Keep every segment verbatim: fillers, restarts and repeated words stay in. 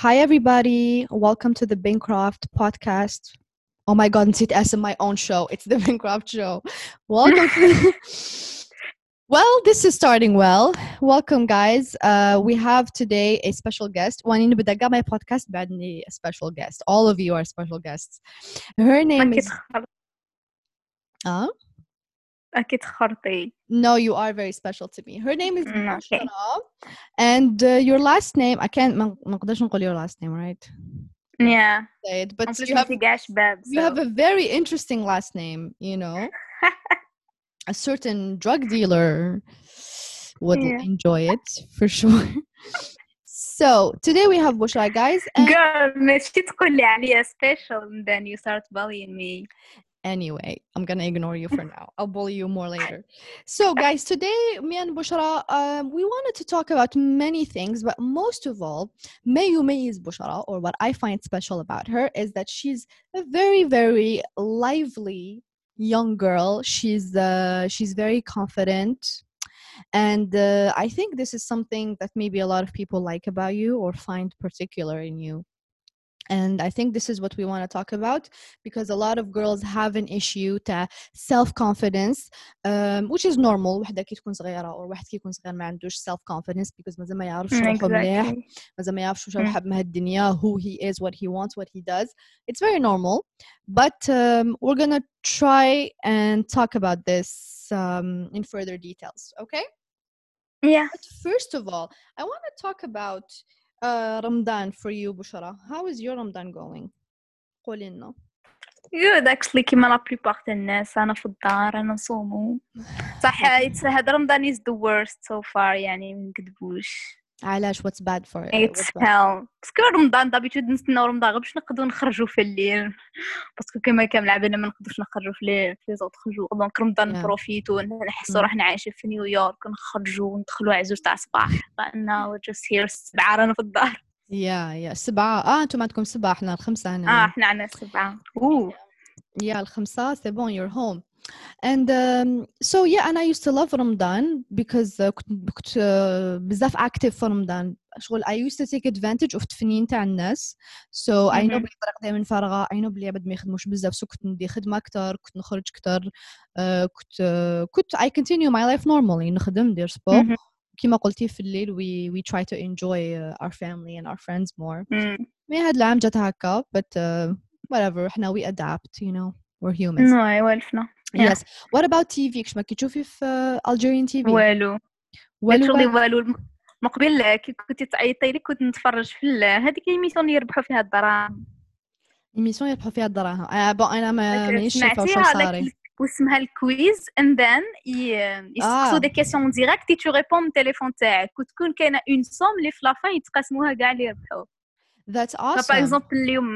Hi, everybody. Welcome to the Bancroft podcast. Oh my God, نسيت اسم my own show. It's the Bancroft show. Welcome to... Well, this is starting well. Welcome, guys. Uh, we have today a special guest. وأنا نبدأ قبل my podcast بعدني a special guest. All of you are special guests. Her name أكيد is... خر... Uh? أكيد خرطي. No, you are very special to me. Her name is Mm, okay. Bushra. And uh, your last name, I can't... ما ما نقدرش نقول your last name, right? Yeah. Say it, but En plus you ما have... في قاع شباب. You have a very interesting last name, you know. A certain drug dealer would Yeah. enjoy it for sure. So today we have Bushra, guys. And Girl, ماشي تقول لي عليا special and then you start bullying me. anyway, I'm gonna ignore you for now. I'll bully you more later. So guys, today me and Bushra, um, we wanted to talk about many things, but most of all, ما يميز Bushra, or what I find special about her, is that she's a very, very lively young girl. She's uh, she's very confident, and uh, I think this is something that maybe a lot of people like about you or find particular in you. And I think this is what we want to talk about, because a lot of girls have an issue to self-confidence, um, which is normal. وحدة كي تكون صغيرة أو واحد كي يكون صغير ما عندوش self-confidence because مازال ما يعرفش روحه مليح، Exactly. مازال ما يعرفش وش Mm. حاب من هالدنيا, who he is, what he wants, what he does. It's very normal, but um, we're gonna try and talk about this um, in further details. Okay? Yeah. But first of all, I want to talk about uh, Ramadan for you, Bushra. How is your Ramadan going? قولي لنا. Good actually كيما لا plupart الناس أنا في الدار أنا نصومو صح. it's هذا رمضان is the worst so far يعني ما نكذبوش. علاش what's bad for it? It's What's bad? hell. باسكو رمضان دابيتود نستناو رمضان غير باش نقدروا نخرجوا في الليل، باسكو كما كامل عبالنا ما نقدروش نخرجوا في الليل في زوط خرجوا دونك رمضان Yeah. نبروفيتو نحسوا Mm. روحنا عايشين في نيويورك ونخرجوا وندخلوا عزوز تاع صباح لأنه we're just here سبعة رانا في الدار. Yeah, yeah. سبعة. آه أنتم عندكم سبعة، إحنا الخمسة اه هنا. احنا عنا سبعة. اوه Yeah, الخمسة. C'est bon, you're home. And um, so yeah, and I used to love Ramadan because uh, كنت كنت uh, بزاف active في رمضان. شغل I used to take advantage of التفنين تاع الناس. So I know بلي طريق دائما فارغة. I know بلي عباد ما يخدموش بزاف. So كنت ندي خدمة أكتر، كنت نخرج أكتر. uh, كنت uh, كنت I continue my life normally. نخدم ندير سبور. كما قلتي في الليل we we try to enjoy uh, our family and our friends more. مي هاد العام جات هكا but uh, whatever. إحنا we adapt, you know. We're humans. نو يوالفنا. Yes. What about تي في? كش ما كي تشوفي في uh, Algerian تي في؟ والو والو شغلي والو. والو. مقبل كي كنتي تعيطي لي كنت نتفرج في هذيك ايميسيون اللي يربحوا فيها الدراهم. إيميسيون يربحوا فيها الدراهم. آه بون أنا ما مانيش شايفة وش سمعتيها صاري. لك واسمها الكويز and then يسقسوا دي كيسيون ديريكت تي ريبون من التليفون تاعك وتكون كاينه اون سوم اللي في لافان يتقاسموها كاع اللي يربحوا. That's awesome. باغ اكزومبل اليوم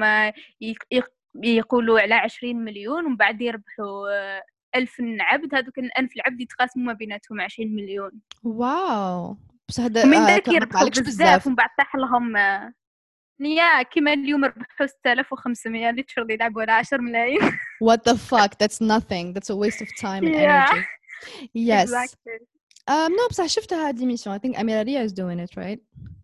يقولوا على عشرين مليون ومن بعد يربحوا ألف عبد، هذوك الألف العبد يتقاسموا ما بيناتهم عشرين مليون. واو. بس هذا ومن آه ذاك كان يربحوا بزاف بزاف ومن بعد طاح لهم يا كيما اليوم ربحوا ستة آلاف وخمسمية اللي تشرد يلعبوا على عشرة ملايين. What the fuck? That's nothing. That's a waste of time and yeah. energy. Yes. Exactly. Um, no, بصح شفتها هاد الإيميسيون. I think Amira Ria is doing it, right?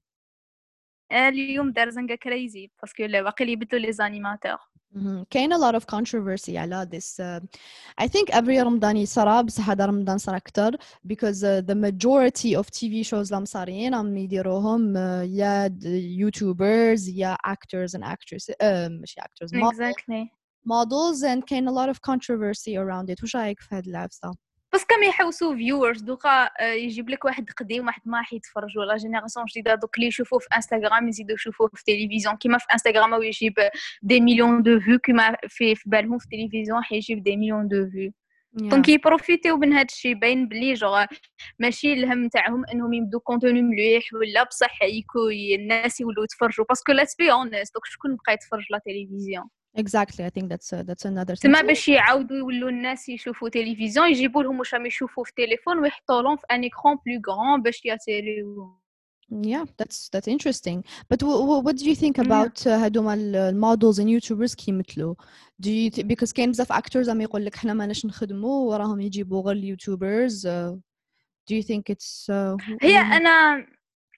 اليوم دار زنقة كريزي باسكو باقي اللي يبدلوا لي زانيماتور. Mm-hmm. كاين a lot of controversy على this. Uh, I think every رمضان يصرى بصح هذا رمضان صار أكتر because uh, the majority of تي في shows اللي صارين عم يديروهم uh, يا YouTubers يا actors and actresses uh, مش actors models, exactly. models and كاين a lot of controversy around it. وش رأيك في هاد العفسة؟ بس كم يحوسوا فيورز دوكا يجيب لك واحد قديم واحد ما يتفرجوا لا جينيراسيون جديده دوك اللي يشوفوه في انستغرام يزيدوا يشوفوه في التلفزيون كيما في انستغرام هو يجيب دي مليون دو فيو كيما في في بالهم في التلفزيون حيجيب دي مليون دو فيو. دونك يبروفيتيو من هذا الشيء باين بلي جوغ ماشي الهم تاعهم انهم يبدو كونتوني مليح ولا بصح يكو الناس يولوا يتفرجوا باسكو لاتس بي اونست دوك شكون بقى يتفرج لا تلفزيون. Exactly, I think that's uh, that's another thing. تما باش يعاودوا يولوا الناس يشوفوا تلفزيون يجيبوا لهم واش راهم يشوفوا في التليفون ويحطوا لهم في ان ايكران بلو غران باش ياتيريو. Yeah, that's that's interesting. But w- w- what do you think about هادوما المودلز and YouTubers كيمثلوا? Do you th- because كاين بزاف actors عم يقول لك حنا ماناش نخدموا وراهم يجيبوا غير اليوتيوبرز. Uh, do you think it's uh, هي انا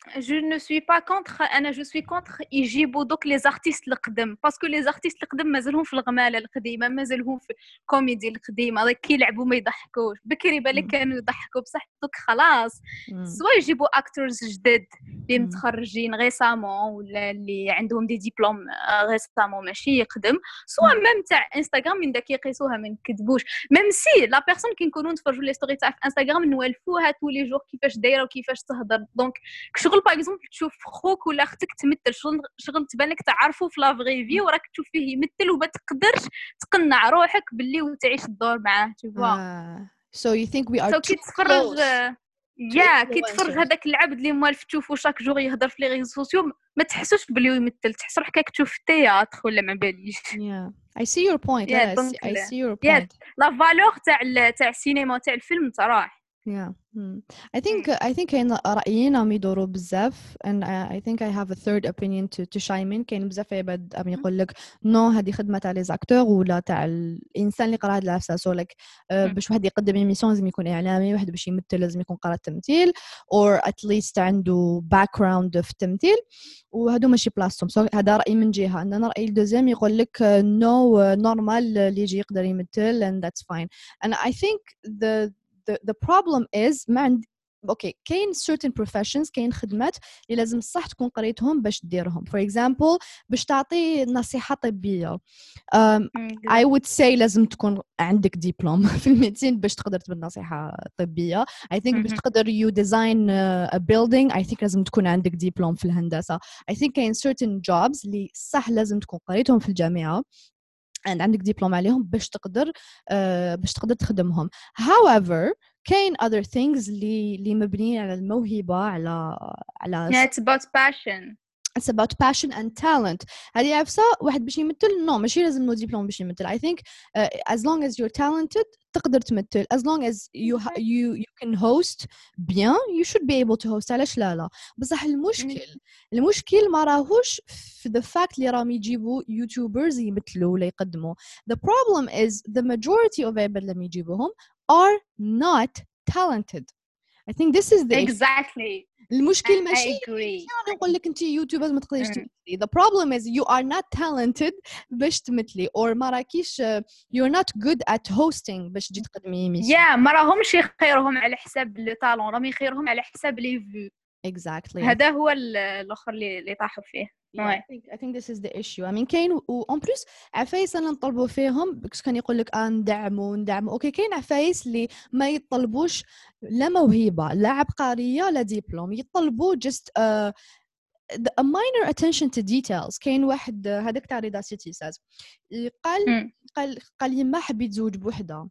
je ne suis pas contre انا جو سوي كونتر يجيبوا دوك لي زارتيست القدم باسكو لي زارتيست القدم مازالهم في الغماله القديمه مازالهم في الكوميدي القديمه داك كيلعبوا ما يضحكوش بكري بالك كانوا يضحكوا بصح دوك خلاص سوا يجيبوا اكتورز جدد اللي متخرجين ريسامون ولا اللي عندهم دي ديبلوم ريسامون ماشي يقدم سوا ميم تاع انستغرام من داك يقيسوها ما نكذبوش ميم سي لا بيرسون كي نكونوا نتفرجوا لي ستوري تاع في انستغرام نوالفوها طول جور كيفاش دايره وكيفاش تهضر دونك شغل باغ اكزومبل تشوف خوك ولا اختك تمثل شغل شغل تبان لك تعرفوا في لا فغي في وراك تشوف فيه يمثل وما تقدرش تقنع روحك باللي وتعيش الدور معاه تشوفوا آه. so you think we are so too كي تفرج close يا كي تفرج هذاك العبد اللي موالف تشوفه شاك جور يهضر في لي ريزو سوسيو ما تحسوش بلي يمثل تحس روحك كاك تشوف التياتر ولا ما باليش yeah I see your point yeah, I, donc, see, I see your yeah, point لا فالور تاع تاع السينما تاع الفيلم تراح yeah hmm. I think mm. I think كاين رأيين عم يدوروا بزاف and I, I think I have a third opinion to to chime in كاين بزاف عباد عم يقول لك نو هذه خدمة تاع لي زاكتور ولا تاع الإنسان اللي قرا هاد العفسة سو لك uh, باش واحد يقدم ايميسيون لازم يكون إعلامي واحد باش يمثل لازم يكون قرا التمثيل or at least عنده background في التمثيل وهادو ماشي بلاصتهم سو so, هذا رأي من جهة عندنا رأي الدوزيام يقول لك نو no, نورمال اللي يجي يقدر يمثل and that's fine and I think the the the problem is ما عند اوكي كاين certain professions كاين خدمات اللي لازم صح تكون قريتهم باش ديرهم for example باش تعطي نصيحة طبية um, I would say لازم تكون عندك ديبلوم في الميديسين باش تقدر تبني نصيحة طبية I think باش تقدر you design a building I think لازم تكون عندك ديبلوم في الهندسة I think كاين certain jobs اللي صح لازم تكون قريتهم في الجامعة and عندك دبلوم عليهم باش تقدر uh, باش تقدر تخدمهم however كاين other things اللي اللي مبنيين على الموهبة على على yeah, it's about passion it's about passion and talent هذه عفسة واحد باش يمثل نو ماشي لازم نو دبلوم باش يمثل I think uh, as long as you're talented تقدر تمثل as long as you ha- you you can host bien you should be able to host علاش لا لا بصح المشكل المشكل ما راهوش في the fact اللي راهم يجيبوا يوتيوبرز يمثلوا ولا يقدموا the problem is the majority of عباد لما يجيبوهم are not talented I think this is the exactly المشكل ماشي أنا نقول لك أنت يوتيوبرز ما تقدريش تمثلي the problem is you are not talented باش تمثلي or ما راكيش you're not good at hosting باش تجي تقدمي ميسيون yeah ما راهمش يخيرهم على حساب لي طالون راهم يخيرهم على حساب لي فيو exactly هذا هو الاخر اللي اللي طاحوا فيه yeah, I think I think this is the issue I mean كاين و en plus عفايس أنا نطلبوا فيهم بس كان يقول لك آه ندعموا ندعموا أوكي كاين عفايس اللي ما يطلبوش لا موهبة لا عبقرية لا دبلوم يطلبوا just uh, a minor attention to details كاين واحد هذاك تاع رضا سيتي ساز قال قال قال لي ما حبيت زوج بوحدة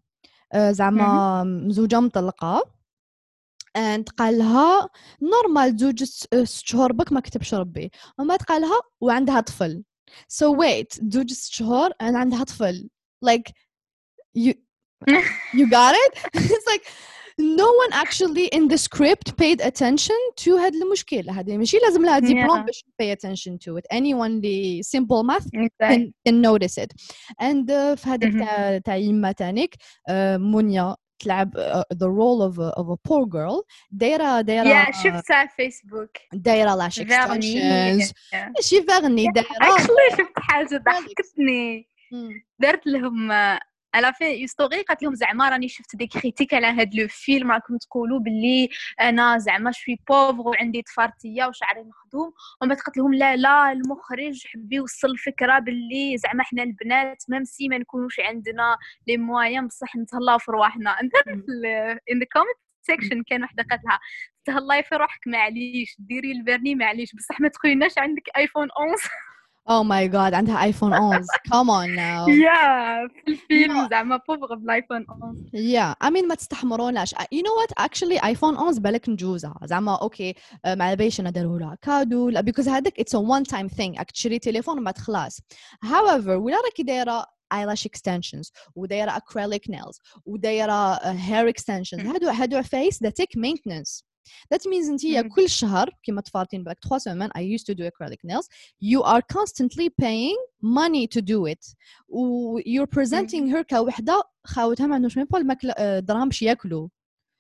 زعما مزوجة مطلقة and قالها نورمال زوج ست شهور بك ما كتبش ربي وما تقالها وعندها طفل so wait زوج ست شهور and عندها طفل like you you got it it's like no one actually in the script paid attention to هاد المشكلة هذه ماشي لازم لها دبلوم باش pay attention to it anyone اللي simple math can, can notice it and uh, في هذاك تاع تاع يما تانيك uh, منيا تلعب uh, the role of a, of a poor girl دايرة دايرة yeah شفتها على فيسبوك دايرة لاش extensions ماشي فغني دايرة actually شفت حاجة ضحكتني درت لهم على في ستوري قالت لهم زعما راني شفت دي كريتيك على هاد لو فيلم راكم تقولوا باللي انا زعما شوي بوفر وعندي طفارتيه وشعري مخدوم وما قالت لهم لا لا المخرج حب يوصل الفكره باللي زعما حنا البنات ميم سي ما نكونوش عندنا لي مويان بصح نتهلاو في رواحنا انت in the comment section كان وحده قالت لها تهلاي في روحك معليش ديري البرني معليش بصح ما تقوليناش عندك ايفون احد عشر Oh my god عندها ايفون احد عشر come on now yeah في الفيلم زعما بوفغ بالايفون احد عشر yeah I mean ما تستحمروناش you know what actually ايفون احد عشر بالك نجوزها زعما اوكي مع باش انا داروا لها كادو لا because هذاك it's a one time thing تشري تليفون وما تخلص however ولا راكي دايره eyelash extensions ودايره acrylic nails ودايره hair extensions هادو هادو عفايس that take maintenance that means انتي كل شهر كيما تفارطين بالك three semaines I used to do acrylic nails you are constantly paying money to do it و you're presenting her كوحدة خاوتها ما عندوش ميم با الماكلة دراهم باش ياكلوا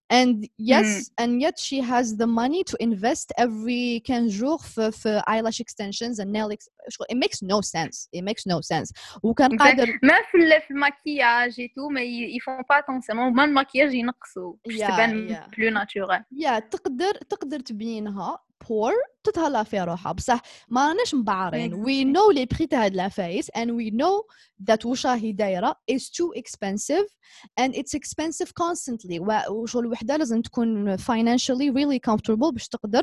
and yes مم. and yet she has the money to invest every كان جور في, في eyelash extensions and nail ex- شغل- it makes no sense it makes no sense وكان قادر ما في ال- في المكياج تو ما يفون با اتونسيون ما المكياج ينقصوا باش Yeah, تبان yeah. بلو ناتورال. يا تقدر تقدر تبينها بور تتهلا في روحها بصح ما راناش مبعرين. we know لي بري تاع هاد العفايس and we know that واش راهي دايره is too expensive and it's expensive constantly. وشغل الوحده لازم تكون financially really comfortable باش تقدر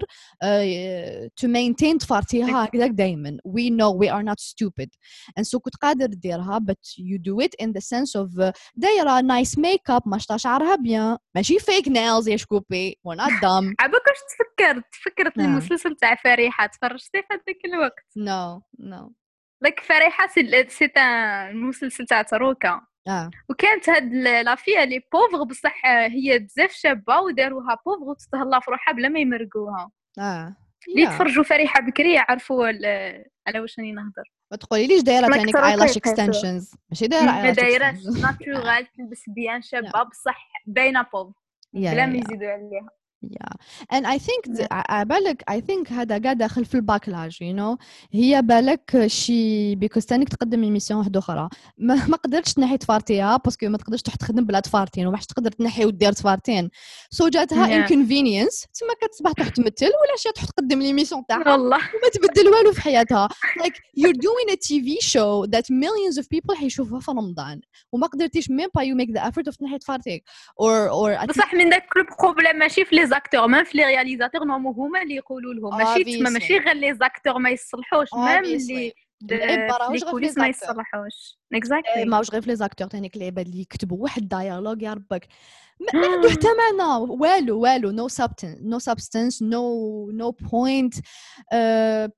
uh, to maintain تفارتيها هكذاك دايما. we know we are not stupid and so كنت قادر ديرها but you do it in the sense of uh, دايره nice makeup ماشطه شعرها بيان ماشي fake nails يا شكوبي we're not dumb. عباك واش تفكرت تفكرت نعم. المسلسل تاع فريحه تفرجتي في هذاك الوقت؟ no no لك فريحه سي سي المسلسل تاع تروكا اه وكانت هاد لافيا لي بوفغ بصح هي بزاف شابه وداروها بوفغ وتتهلا في روحها بلا ما يمرقوها. اه اللي يا تفرجوا فريحه بكري يعرفوا على واش راني نهضر. ما تقوليليش دايره لك تانيك تروكا eyelash يقيسوا. extensions ماشي دايره ما eyelash دايراش extensions ناتورال تلبس بيان Yeah. شابه بصح باينه بوفغ Yeah, بلا yeah, ما yeah. يزيدوا عليها. Yeah, and I think Yeah. th- ع- بالك I think هذا قاعد داخل في الباكلاج you know هي بالك شي بيكوز تانيك تقدم ايميسيون واحده اخرى ما, ما قدرتش تنحي تفارتيها باسكو ما تقدرش تروح تخدم بلا تفارتين وما تقدر تنحي ودير تفارتين سو so جاتها Yeah. inconvenience تما كتصبح تروح تمثل ولا شي تروح تقدم الايميسيون تاعها والله وما تبدل والو في حياتها like you're doing a تي في show that millions of people حيشوفوها في رمضان وما قدرتيش même pas you make the effort of تنحي تفارتيك or or at بصح من داك البروبليم ماشي في لي زاكتور ميم في لي رياليزاتور نورمال هما اللي يقولوا لهم ماشي تما ماشي غير لي زاكتور ما يصلحوش ميم اللي العيب في لي راهوش غير في كوليس لي ما زاكتور يصلحوش اكزاكتلي ماهوش غير في لي زاكتور تانيك العباد اللي يكتبوا واحد دايالوج يا ربك ما ما عنده حتى معنى والو والو no substance no substance no no point uh,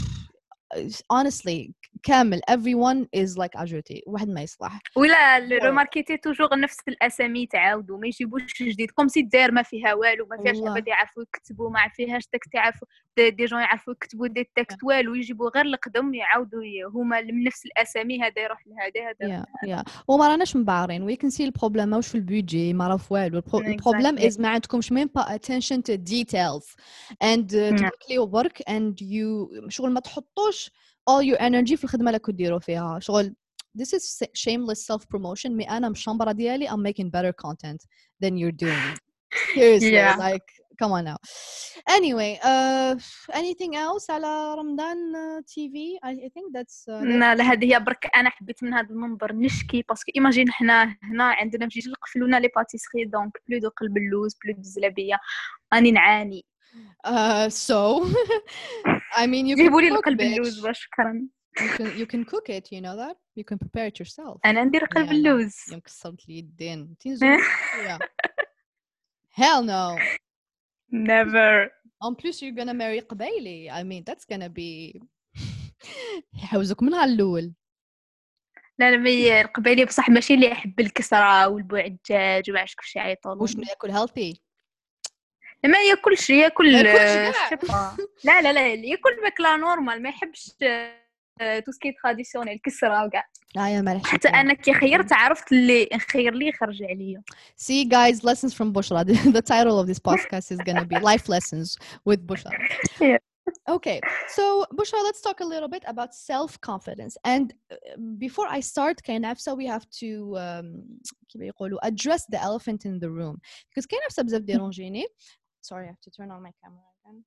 honestly كامل everyone is like اجوتي واحد ما يصلح ولا روماركيتي توجور نفس الاسامي تعاودوا ما يجيبوش جديد كوم سي داير ما فيها والو ما فيهاش عباد يعرفوا يكتبوا ما فيهاش تكست يعرفوا دي, دي جون يعرفوا يكتبوا دي تكست والو يجيبوا غير القدم يعاودوا هما من نفس الاسامي هذا يروح لهذا هذا yeah yeah وما راناش مبعرين وي كان سي البروبليم ماهوش في البودجي ما راه في والو البروبليم از ما عندكمش ميم با attention to details and تبكليو work and you شغل ما تحطوش all your energy في الخدمه اللي كنت ديروا فيها شغل this is shameless self promotion مي انا مشامبره ديالي I'm making better content than you're doing seriously yeah. like come on now anyway uh anything else على رمضان uh, تي في I, I think that's, uh, that's... لا هذه هي برك انا حبيت من هذا المنبر نشكي باسكو ايماجين حنا هنا عندنا في جيج قفلونا لي باتيسري دونك بلو دو قلب اللوز بلو دو الزلابيه راني نعاني uh, so I mean you جيبوا لي can cook القلب bitch. اللوز شكرا you can you can cook it you know that you can prepare it yourself انا ندير قلب yeah, اللوز يوم كسرت لي اليدين تنزل yeah hell no never en plus you're gonna marry قبايلي I mean that's gonna be يحوزك منها الأول لا لا مي القبايلي بصح ماشي اللي يحب الكسرة والبوعجاج وما عرفتش كيفاش يعيطوا وشنو ياكل healthy ما ياكلش ياكل ياكلش لا لا لا ياكل ماكله نورمال ما يحبش تو سكي تراديسيونيل الكسرة وكاع لا يا مالح حتى انا كي خيرت عرفت اللي نخير لي خرج عليا. See guys, lessons from Bushra. The title of this podcast is going to be life lessons with Bushra. Yeah. Okay, so Bushra, let's talk a little bit about self-confidence. And before I start, كنفسة, we have to um, كيف يقولوا address the elephant in the room. Because كنفسة بزاف ديرونجيني. Sorry, I have to turn on my camera again.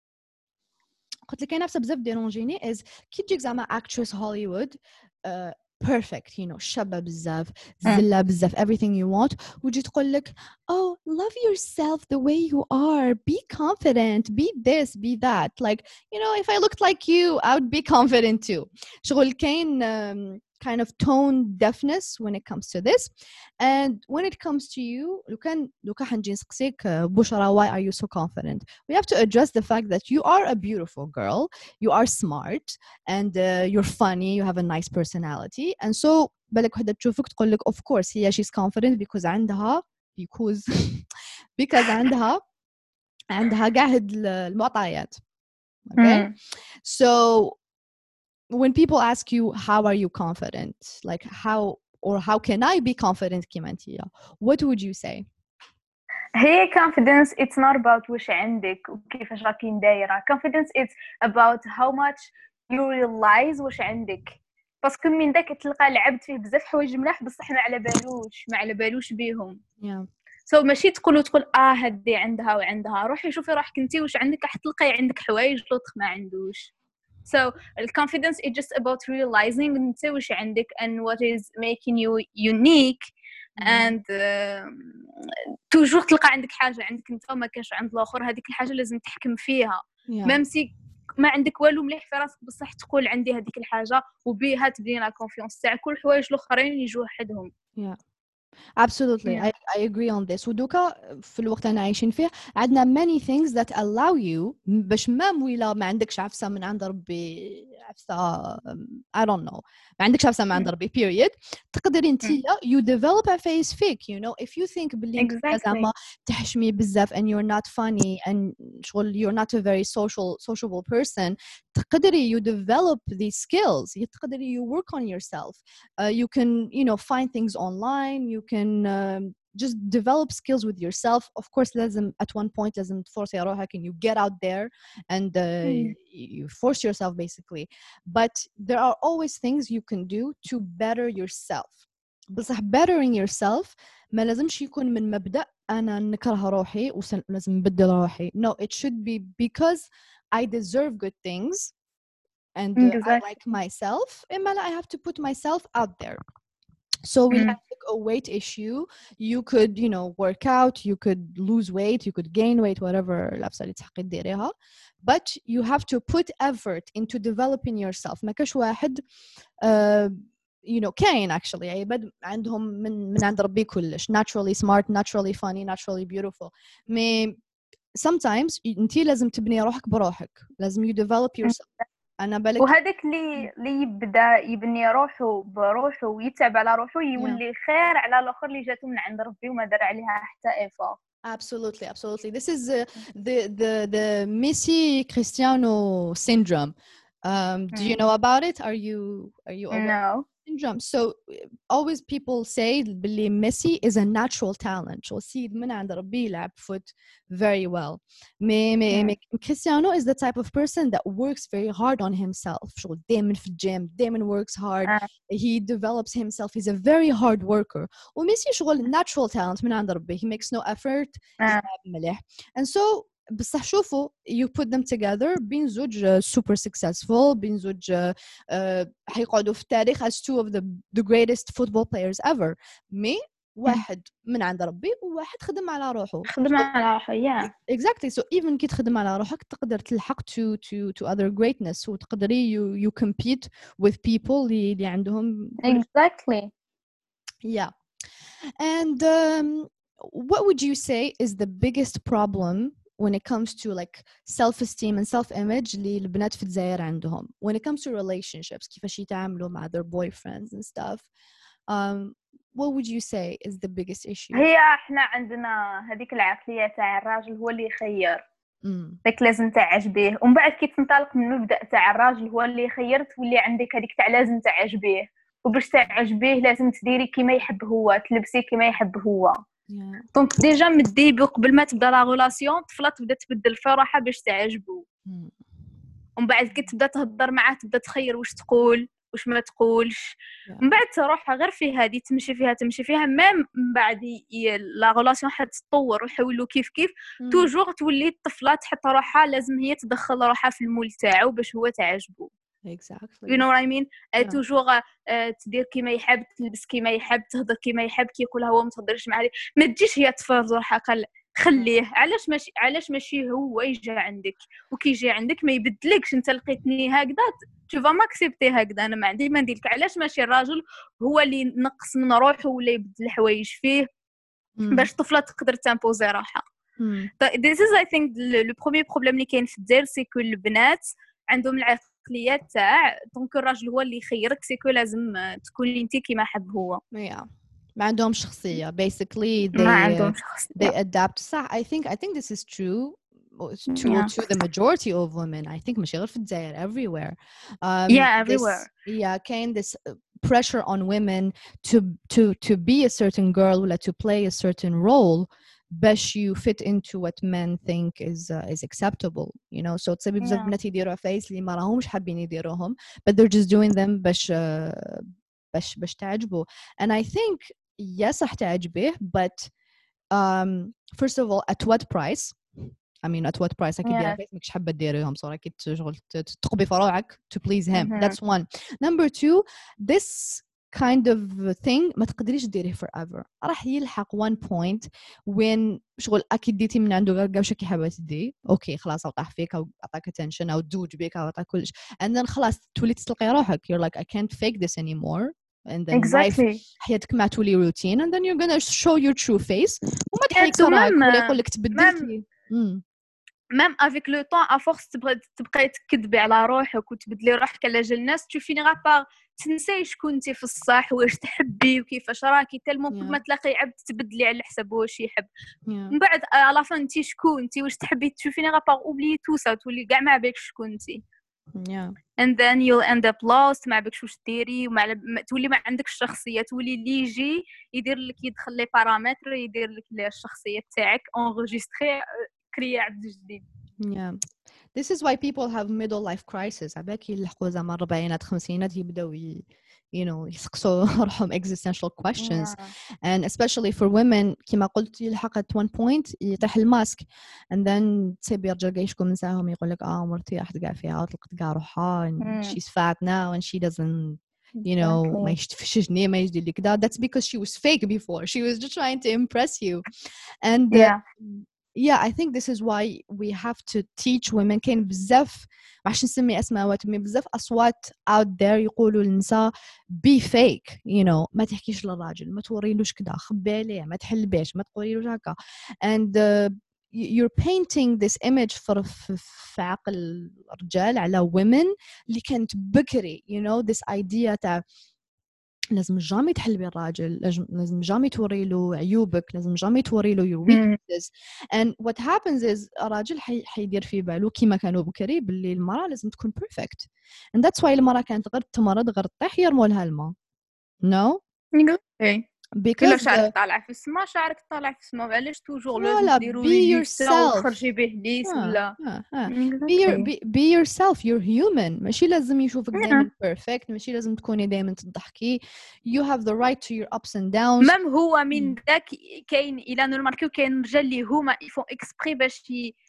قلت لك كنفسة بزاف ديرونجيني is كي تجيك زعما actress Hollywood uh, perfect, you know, شابة بزاف, زلة بزاف, everything you want. وتجي تقول لك, oh, love yourself the way you are, be confident, be this, be that. Like, you know, if I looked like you, I would be confident too. شغل كاين um, kind of tone deafness when it comes to this. And when it comes to you, لو كان لو كان حنجي نسقسيك بشرى, why are you so confident? We have to address the fact that you are a beautiful girl, you are smart, and uh, you're funny, you have a nice personality. And so بالك وحدة تشوفك تقول لك of course هي she's confident because عندها because because عندها عندها قاع هاد المعطيات. Okay? Mm. So when people ask you how are you confident, like how or how can I be confident كيما انتيا, what would you say? هي confidence it's not about واش عندك وكيفاش راكي دايره. confidence it's about how much you realize واش عندك. باسكو من داك تلقى العبد فيه بزاف حوايج ملاح بصح ما على بالوش ما على بالوش بيهم. yeah. سو so, ماشي تقولوا تقول اه هدي عندها وعندها، روحي شوفي روحك انت واش عندك، راح تلقاي عندك حوايج لوطخ ما عندوش. so الconfidence is just about realizing انت واش عندك and what is making you unique. mm-hmm. and توجور uh, تلقى عندك حاجه عندك انت وما كاش عند الاخر، هذيك الحاجه لازم تحكم فيها. yeah. ميمسي ما عندك والو مليح في راسك بصح تقول عندي هذيك الحاجه وبيها تبني لا كونفيونس تاعك، كل الحوايج الاخرين يجوا وحدهم. yeah. Absolutely, yeah. I, I agree on this. ودوكا في الوقت اللي عايشين فيه عندنا many things that allow you باش ما ولا ما عندكش عفسة من عند ربي، عفسة I don't know ما عندكش عفسة من عند ربي period، تقدري انتي you develop a face fake, you know, if you think بلي زعما تحشمي بزاف and you're not funny and شغل you're not a very social sociable person، تقدري you develop these skills، تقدري you work on yourself. uh, you can you know find things online, you can um, just develop skills with yourself. Of course لازم at one point لازم تفرصي روحك and you get out there and uh, mm. you force yourself basically, but there are always things you can do to better yourself. بصح bettering yourself ما لازمش يكون من مبدأ أنا نكره روحي ولازم نبدل روحي. No, it should be because I deserve good things and uh, exactly. I like myself, I have to put myself out there. So we mm. have like a weight issue. You could, you know, work out, you could lose weight, you could gain weight, whatever. But you have to put effort into developing yourself. ما كاش واحد uh, you know كاين actually عباد عندهم من من عند ربي كلش naturally smart, naturally funny, naturally beautiful. مي sometimes انتي لازم تبني روحك بروحك، لازم you develop yourself. أنا بالك وهذاك اللي اللي يبدا يبني روحه بروحه ويتعب على روحه يولي yeah. خير على الاخر اللي جاتو من عند ربي وما دار عليها حتى ايفا. Absolutely, absolutely. This is uh, the the the Messi Cristiano syndrome. Um, do you know about it? Are you are you aware? No. Syndrome. So always people say Billy Messi is a natural talent. So see من عند ربي يلعب foot very well. Me, me, me, Cristiano is the type of person that works very hard on himself. So دايما في الجيم، دايما works hard. Uh. He develops himself. He's a very hard worker. وميسي شغل natural talent من عند ربي. He makes no effort. Uh. مليح. And so بصح شوفوا you put them together بين زوج super successful، بين زوج uh, حيقعدوا في التاريخ as two of the the greatest football players ever. مي واحد من عند ربي وواحد خدم على روحه. خدم على روحه yeah. Exactly. So even كي تخدم على روحك تقدر تلحق to to to other greatness وتقدري you you compete with people اللي اللي عندهم. Exactly. Yeah. And um, what would you say is the biggest problem when it comes to like self-esteem and self-image اللي البنات في الجزائر عندهم when it comes to relationships كيفاش يتعاملوا مع their boyfriends and stuff? Um, what would you say is the biggest issue? هي احنا عندنا هذيك العقلية تاع الراجل هو اللي يخير. داك لازم تعجبيه، ومن بعد كي تنطلق من المبدأ تاع الراجل هو اللي خير تولي عندك هذيك تاع لازم تعجبيه، وباش تعجبيه لازم تديري كيما يحب هو، تلبسي كيما يحب هو. دونك yeah. ديجا من الديبي قبل ما تبدا لا ريلاسيون الطفله تبدا تبدل في روحها باش تعجبو. mm. ومن بعد كي تبدا تهضر معاه تبدا تخير واش تقول واش ما تقولش. yeah. من بعد تروح غير في هذه تمشي فيها تمشي فيها ميم من بعد لا ريلاسيون حتتطور ويحولوا كيف كيف. mm. توجور تولي الطفله تحط روحها لازم هي تدخل روحها في المول تاعو باش هو تعجبو. Exactly. You know what I mean? yeah. توجور تدير كيما يحب، تلبس كيما يحب، تهضر كيما يحب، كي يقولها هو ما تهضرش معاه، ما تجيش هي تفرض روحها قال خليه. علاش ماشي علاش ماشي هو يجي عندك، وكي يجي عندك ما يبدلكش. انت لقيتني هكذا tu vas m'accepter هكذا، انا ما عندي ما نديرلك. علاش ماشي الراجل هو اللي ينقص من روحه ولا يبدل حوايج فيه mm. باش الطفله تقدر تامبوزي روحها. mm. This is I think le premier problème اللي كاين في الجزائر سي كو البنات عندهم العقليات تاع دونك الراجل هو اللي يخيرك، سيكو لازم تكوني انت كيما حب هو. yeah. ما عندهم شخصية basically they ما عندهم شخصية. they adapt. صح. I think I think this is true to yeah. to the majority of women. I think ماشي غير في الجزائر everywhere. Um, yeah everywhere. This, yeah كاين this pressure on women to to to be a certain girl ولا to play a certain role باش you fit into what men think is uh, is acceptable, you know. So تصيبي بزاف Yeah. بنات يديروا عفايس اللي ما راهمش حابين يديروهم but they're just doing them باش uh, باش باش تعجبوا. And I think yes راح تعجبيه but um, first of all at what price. I mean at what price أكيد دير Yeah. عفايس ماكش حابة ديريهم صراحة أكيد شغل تقبي فروعك to please him. Mhm. That's one. Number two, this kind of thing ما تقدريش ديريه forever. راح يلحق one point when شغل أكيد ديتي من عنده غير قاوش كي حابة تدي أوكي خلاص أوقع فيك أو أعطاك attention أو دوج بيك أو أعطاك كلش and then خلاص تولي تسلقي روحك you're like I can't fake this anymore and then life Exactly. حياتك ما تولي routine and then you're gonna show your true face وما تحيك Yeah, so راك même, ولا يقول لك تبدلتي. Mm. même avec le temps à force تبغي تبقاي تكذبي على روحك وتبدلي روحك على جال الناس tu finiras par تنساي شكون انت في الصح واش تحبي وكيفاش راكي تالمون كل ما تلاقي عبد تبدلي على حساب واش يحب من بعد على فان انت شكون انت واش تحبي tu finiras par oublier tout ça تولي كاع ما بالك شكون انت yeah and then you'll end up lost ما بالكش واش ديري وما تولي ما عندك الشخصيه تولي اللي يجي يدير لك يدخل لي بارامتر يدير لك الشخصيه تاعك انغيستري كريا عبد جديد. Yeah. This is why people have middle life crisis. عباك يلحقوا زعما الربعينات خمسينات يبداو ي... you know يسقسوا روحهم existential questions Yeah. and especially for women كما قلت يلحق at one point يطيح الماسك and then تصيب يرجع يشكو من ساهم يقول لك اه مرتي راحت كاع فيها وطلقت كاع روحها and Mm. she's fat now and she doesn't you know ما يشتفش جنيه ما يجدي لك ده. That's because she was fake before. She was just trying to impress you and uh, Yeah. yeah I think this is why we have to teach women. كاين بزاف معش نسمي اسماء مي بزاف اصوات out there يقولوا للنساء be fake you know ما تحكيش للراجل ما توريلوش كذا خبي عليه ما تحلبيش ما تقوليلوش هكا and uh, you're painting this image for في عقل الرجال على women اللي كانت بكري you know this idea تاع لازم جامي تحلبي الراجل لازم جامي توري له عيوبك لازم جامي توري له your weaknesses and what happens is الراجل حي حيدير في باله كيما كانوا بكري باللي المرأة لازم تكون perfect and that's why المرأة كانت غير تمرض غير تطيح يرموا لها الماء no because إلا شعرك طالع في السما شعرك طالع في السما علاش توجور لازم ديروا لي وخرجي به ليس ولا be, your, be, be yourself you're human ماشي لازم يشوفك دائما perfect ماشي لازم تكوني دائما تضحكي you have the right to your ups and downs مام هو من ذاك كاين الى نماركيو كاين رجال اللي هما يفون اكسبري باش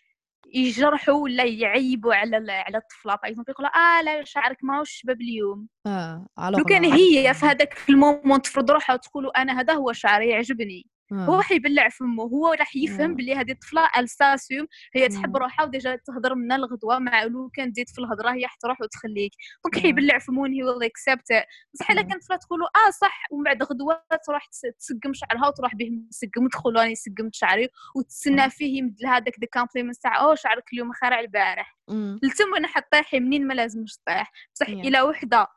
يجرحوا ولا يعيبوا على على الطفله باغ اكزومبل يقولوا اه لا شعرك ماهوش شباب اليوم اه لو كان هي في هذاك المومون تفرض روحها وتقولوا انا هذا هو شعري يعجبني آه. هو حيبلع فمه هو راح يفهم بلي هذه الطفله الساسيوم هي تحب روحها وديجا تهضر من الغدوه مع لو كان تزيد في الهضره هي حتروح وتخليك دونك حيبلع فمه هي ولا اكسبت بصح الا كانت طفله تقولوا اه صح ومن بعد غدوه تروح تسقم شعرها وتروح به مسقم وتدخل راني سقمت شعري وتسنى فيه يمد لها داك دي كومبليمنت تاع او شعرك اليوم خير على البارح لتم انا حطيحي منين ما لازمش طيح بصح الى وحده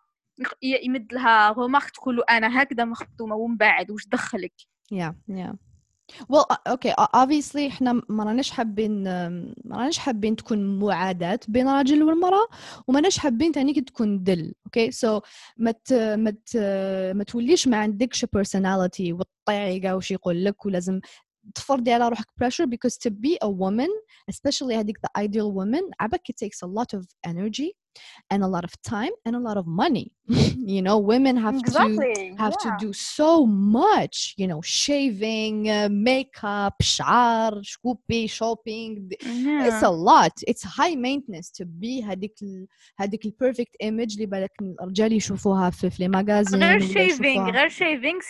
يمد لها غومارك تقولوا انا هكذا مخدومه ومن بعد واش دخلك yeah yeah well okay obviously احنا ما راناش حابين ما راناش حابين تكون معاداة بين الراجل والمرأة وما راناش حابين تانيك تكون دل okay so ما ما ما توليش ما عندكش personality وتطيعي كاع وش يقول لك ولازم تفرضي على روحك pressure because to be a woman especially هذيك the ideal woman عبك it takes a lot of energy and a lot of time and a lot of money you know women have exactly. to have yeah. to do so much you know shaving uh, makeup شعر شكوبي shopping yeah. It's a lot it's high maintenance to be هذيك هذيك ال perfect image اللي بالك الرجال يشوفوها في في الماغازين غير shaving غير shaving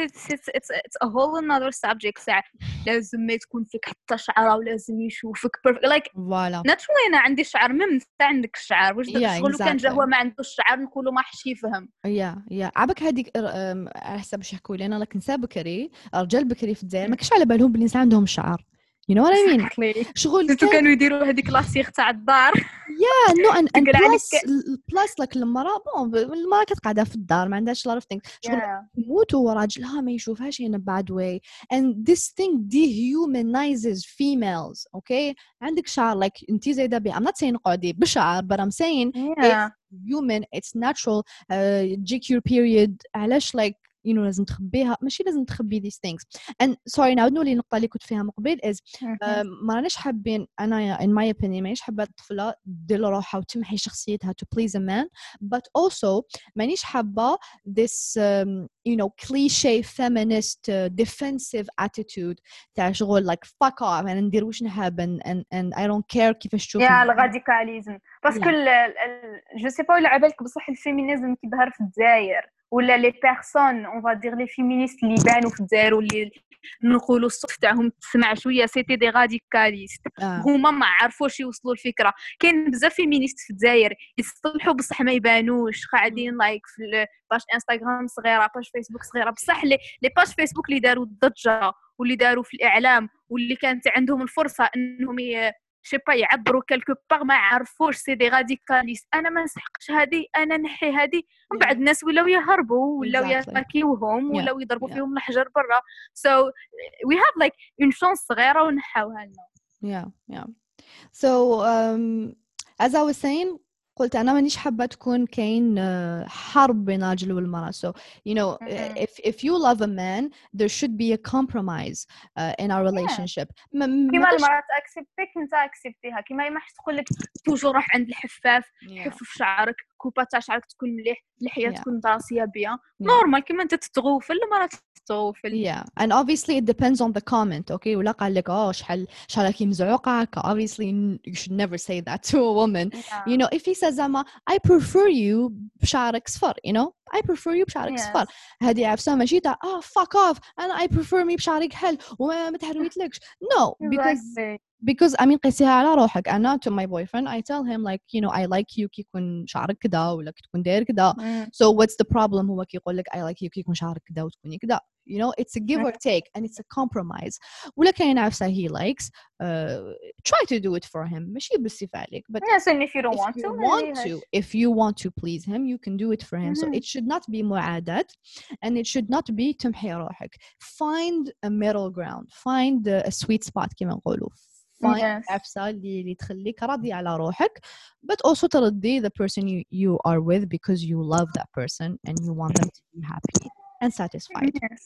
it's it's a whole another subject ساعة لازم ما تكون فيك حتى شعره ولازم يشوفك perfect like voilà naturally أنا عندي شعر مم عندك الشعر واش داك الشغل كان جا هو ما عندوش الشعر نقولوا ما حش يفهم يا يا عبك هذيك على حسب اش يحكوا لنا لكن نساء بكري رجال بكري في الجزائر ما كاش على بالهم بلي نساء عندهم شعر you know what I mean شغل كان... كانوا يديروا هذيك لاسيغ تاع الدار yeah no and, and plus plus like المرأة بون المرأة كتقعدها في الدار ما عندهاش lot of things شغل يموتوا وراجلها ما يشوفهاش in a bad way and this thing dehumanizes females okay عندك شعر like انتي زايدة بي I'm not saying قعدي بشعر but I'm saying yeah. it's human it's natural uh, تجيك your period علاش like you know لازم تخبيها ماشي لازم تخبي these things and sorry نعاود نولي النقطة اللي كنت فيها من قبل is uh, ما راناش حابين أنا in my opinion مانيش حابة الطفلة دير روحها وتمحي شخصيتها to please a man but also مانيش حابة this um, you know cliché feminist uh, defensive attitude تاع شغل like fuck off أنا ندير واش نحب and, and, and I don't care كيفاش تشوفني يا الراديكاليزم باسكو جو سي با ولا عبالك بصح الفيمينيزم كي ظهر في الجزائر ولا لي بيرسون اون فا دير لي فيمينيست اللي بانوا في الجزائر واللي نقولوا الصوت تاعهم تسمع شويه سيتي دي راديكاليست آه. هما ما عرفوش يوصلوا الفكره كاين بزاف فيمينيست في الجزائر يصلحوا بصح ما يبانوش قاعدين لايك في باش انستغرام صغيره باش فيسبوك صغيره بصح لي لي باج فيسبوك اللي داروا الضجه واللي داروا في الاعلام واللي كانت عندهم الفرصه انهم ي... شي با يعبروا كلكو باغ ما عرفوش سي دي راديكاليست انا ما نسحقش هذه انا نحي هذه من بعد الناس ولاو يهربوا ولاو ياكيوهم ولاو يضربوا فيهم الحجر برا so we have like une chance صغيره ونحاوها لنا yeah yeah so um, as I was saying قلت أنا مانيش حابة تكون كاين حرب بين الرجل والمرأة so you know mm-hmm. if if you love a man there should be a compromise uh, in our relationship yeah. كيما المرأة تأكسبتك انت أكسبتيها كيما يماش تقول لك توجور روح عند الحفاف yeah. حفف شعرك كوبا تاع شعرك تكون مليح لحية yeah. تكون راسية بيان نورمال كيما انت تتغوفل المرأة تتغوفل yeah and obviously it depends on the comment okay ولا قال لك اه شحال شحال كي مزعوقة obviously you should never say that to a woman yeah. you know if he says زعما I prefer you بشعرك صفر you know I prefer you بشعرك صفر yes. هذه عفسة ماشي تاع اه fuck off أنا I prefer me بشعرك حل وما تحرويتلكش no because exactly. because I mean قيسيها على روحك أنا to my boyfriend I tell him like you know I like you كي يكون شعرك كذا ولا كي تكون داير كذا mm. so what's the problem هو كي يقول لك I like you كي يكون شعرك كذا وتكوني كذا you know it's a give or take and it's a compromise ولا كاين عفسة he likes uh, try to do it for him ماشي بالصفة عليك but yes and if you don't if want you to want to if you want to please him you can do it for him mm-hmm. so it should not be معاداة and it should not be تمحي روحك find a middle ground find a, a sweet spot كما نقولوا find yes. عفسة اللي اللي تخليك راضي على روحك but also ترضي the person you, you are with because you love that person and you want them to be happy and satisfied yes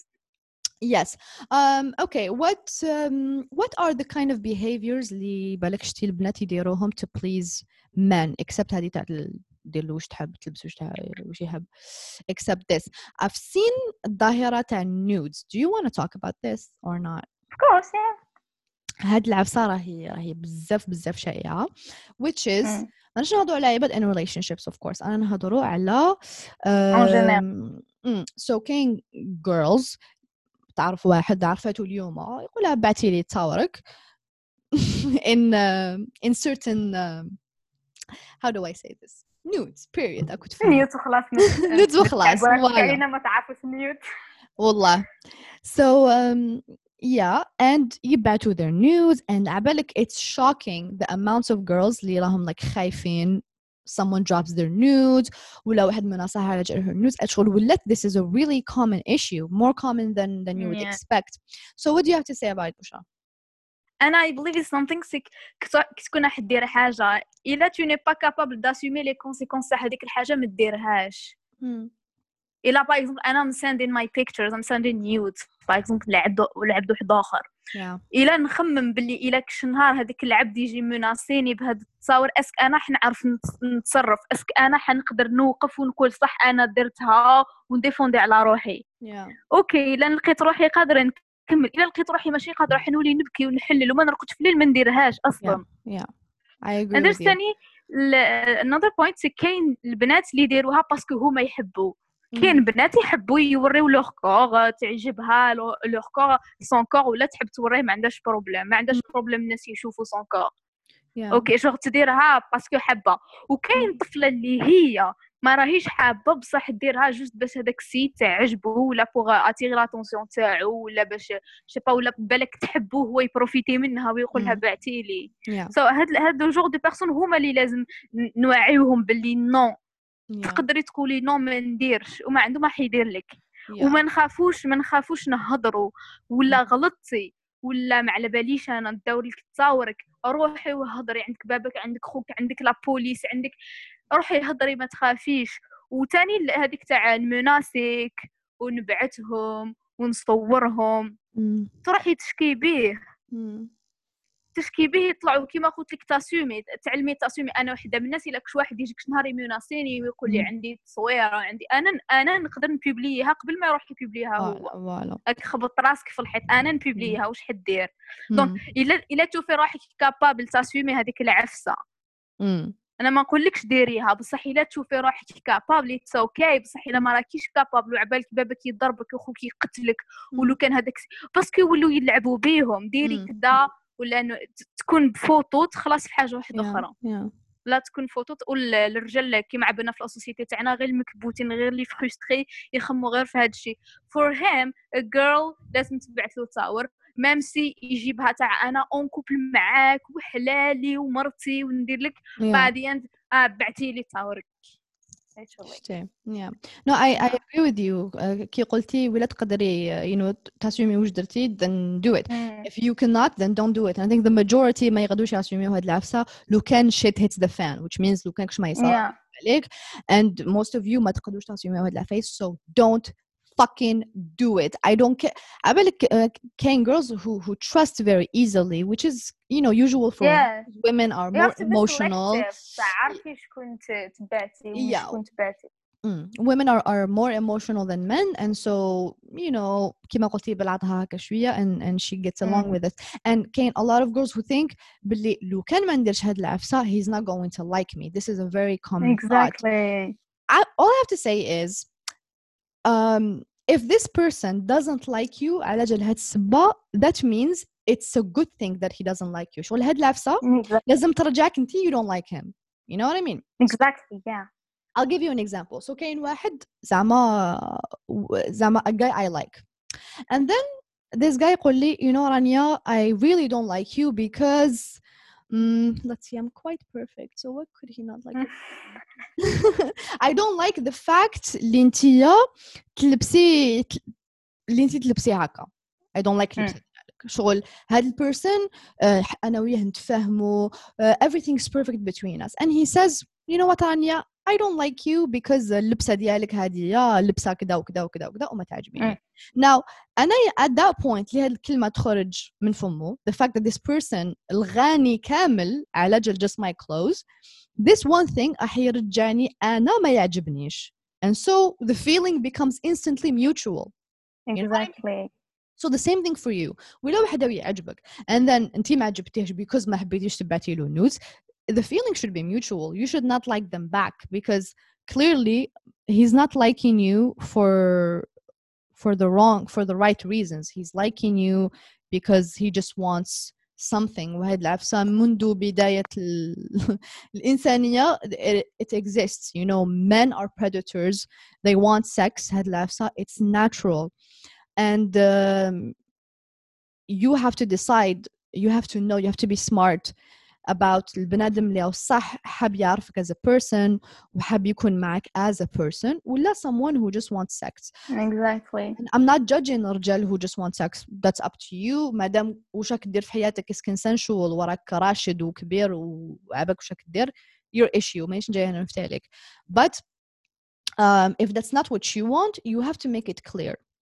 yes um okay what um what are the kind of behaviors اللي بالك شتي البنات يديروهم to please men except هذه تاع دير له واش تحب تلبس واش واش يحب except this I've seen الظاهرة تاع nudes do you want to talk about this or not of course yeah هاد العفسة راهي راهي بزاف بزاف شائعة which is ما نش نهضروا على عباد in relationships of course أنا نهضروا على um, so كاين girls تعرف واحد عرفته اليوم يقولها بعتي لي تصاورك in uh, in certain uh, how do I say this nudes period أكو تفهم نيوت وخلاص nudes وخلاص كاينة ما تعرفش نيوت والله so um, yeah and يبعتوا their nudes and عبالك it's shocking the amounts of girls اللي راهم like خايفين someone drops their nudes ولا واحد من نصها على جال her nudes أشغل ولت this is a really common issue more common than than you would yeah. expect so what do you have to say about it بشرى أنا I believe it's something sick كي تكون راح دير حاجة إلا tu n'es pas capable d'assumer les conséquences تاع هذيك الحاجة ما ديرهاش hmm. إلا باغ إكزومبل أنا I'm sending my pictures I'm sending nudes باغ إكزومبل لعبد لعبد واحد آخر yeah. إلا نخمم باللي إلا كش نهار هذاك العبد يجي مناسيني بهذا التصاور اسك أنا حنعرف نتصرف اسك أنا حنقدر نوقف ونقول صح أنا درتها ونديفوندي على روحي yeah. أوكي إلا لقيت روحي قادرة نكمل إلا لقيت روحي ماشي قادرة حنولي نبكي ونحلل وما نرقدش في الليل ما نديرهاش أصلا yeah. yeah. I agree with you ثاني another point كاين البنات اللي يديروها باسكو هما يحبوا كاين بنات يحبوا يوريو لوغ كور تعجبها لوغ كور سون كور ولا تحب توريه ما عندهاش بروبليم ما عندهاش بروبليم الناس يشوفوا سون كور اوكي شغل تديرها باسكو حابه وكاين طفله اللي هي ما راهيش حابه بصح ديرها جوست باش هذاك السيت تعجبه ولا بوغ اتيغي لاتونسيون تاعو ولا باش شي با ولا بالك تحبوه هو يبروفيتي منها ويقولها بعتي لي سو هاد هاد جوغ دو بيرسون هما اللي لازم نوعيوهم باللي نو yeah. تقدري تقولي نو ما نديرش وما عنده ما حيدير لك yeah. وما نخافوش ما نخافوش نهضروا ولا غلطتي ولا ما على باليش انا ندور لك تصاورك روحي وهضري عندك بابك عندك خوك عندك لا بوليس عندك روحي هضري ما تخافيش وثاني هذيك تاع المناسك ونبعثهم ونصورهم مم. تروحي تشكي به مم. تشكي به يطلعوا كيما قلت لك تاسومي تعلمي تاسومي. انا وحده من الناس الا كش واحد يجيك نهار يميناسيني ويقول لي مم. عندي تصويره عندي انا انا نقدر نبوبليها قبل ما يروح يبوبليها هو. فوالا فوالا. راك خبط راسك في الحيط انا مم. نبوبليها واش حدير. دونك مم. الا الا تشوفي روحك كابابل تاسومي هذيك العفسه مم. انا ما نقولكش ديريها بصح الا تشوفي روحك كابابل اتس اوكي. بصح الا ما راكيش كابابل وعبالك باباك يضربك وخوك يقتلك ولو كان هذاك باسكو يولوا يلعبوا بيهم ديري مم. كدا ولا انه تكون بفوطو تخلص في حاجه واحده yeah اخرى. yeah لا تكون فوتو تقول للرجال كيما عبنا في السوسيتي تاعنا غير المكبوتين غير اللي فرستري يخموا غير في هذا الشيء. for him a girl لازم تبعث له تصاور ميم سي يجيبها تاع انا اون كوبل معاك وحلالي ومرتي وندير لك yeah بعد يند اه بعتي لي تصاورك. شتي yeah no I I agree with you. uh, كي قلتي ولا تقدري uh, you know تاسومي واش درتي then do it. mm. if you cannot then don't do it. and I think the majority ما يقدروش ياسوميو هاد العفسة لو كان shit hits the fan which means لو كان كش ما يصير yeah. عليك and most of you ما تقدروش تاسوميو هاد العفايس so don't fucking do it. I don't care. عبالك uh, can girls who who trust very easily which is you know usual for yeah. women are you more have to emotional. تعرفي شكون تبعتي yeah وشكون تبعتي. Mm. women are are more emotional than men and so you know كما قلتي بلعتها هكا شوية and and she gets along mm. with it. and كاين a lot of girls who think باللي لو كان ما نديرش هاد العفسة he's not going to like me. This is a very common exactly. thought. I, all I have to say is um if this person doesn't like you على جال هاد السبة that means it's a good thing that he doesn't like you. شغل هاد العفسة exactly. لازم ترجعك انتي you don't like him. You know what I mean? exactly yeah. I'll give you an example. So كاين واحد زعما زعما a guy I like and then this guy يقول لي you know Rania I really don't like you because mm, let's see I'm quite perfect so what could he not like I don't like the fact اللي انتيا تلبسي اللي انتي تلبسي هكا. I don't like لبسك شغل هاد البيرسون uh, أنا وياه نتفاهموا uh, everything's perfect between us and he says you know what Rania I don't like you because اللبسة ديالك هذه لبسة كذا وكذا وكذا وكذا وما تعجبني. Now أنا at that point اللي هاد الكلمة تخرج من فمه the fact that this person الغاني كامل على جل just my clothes this one thing راح يرجعني أنا ما يعجبنيش and so the feeling becomes instantly mutual. exactly. So the same thing for you. ولو واحد يعجبك and then أنتي ما عجبتيش because ما حبيتيش تبعتي له nudes the feeling should be mutual. You should not like them back because clearly he's not liking you for for the wrong for the right reasons. He's liking you because he just wants something. وهاد العفسة منذ بداية الإنسانية it exists. You know, men are predators. They want sex. هاد العفسة it's natural and um, you have to decide. You have to know. You have to be smart about البنادم اللي هو صح حاب يعرفك as a person وحاب يكون معك as a person ولا someone who just wants sex. exactly. And I'm not judging الرجال who just want sex. That's up to you. مادام وش راك دير في حياتك is consensual وراك راشد وكبير وعبك وش راك دير your issue مانيش جاي هنا نفتح عليك. But um, if that's not what you want you have to make it clear.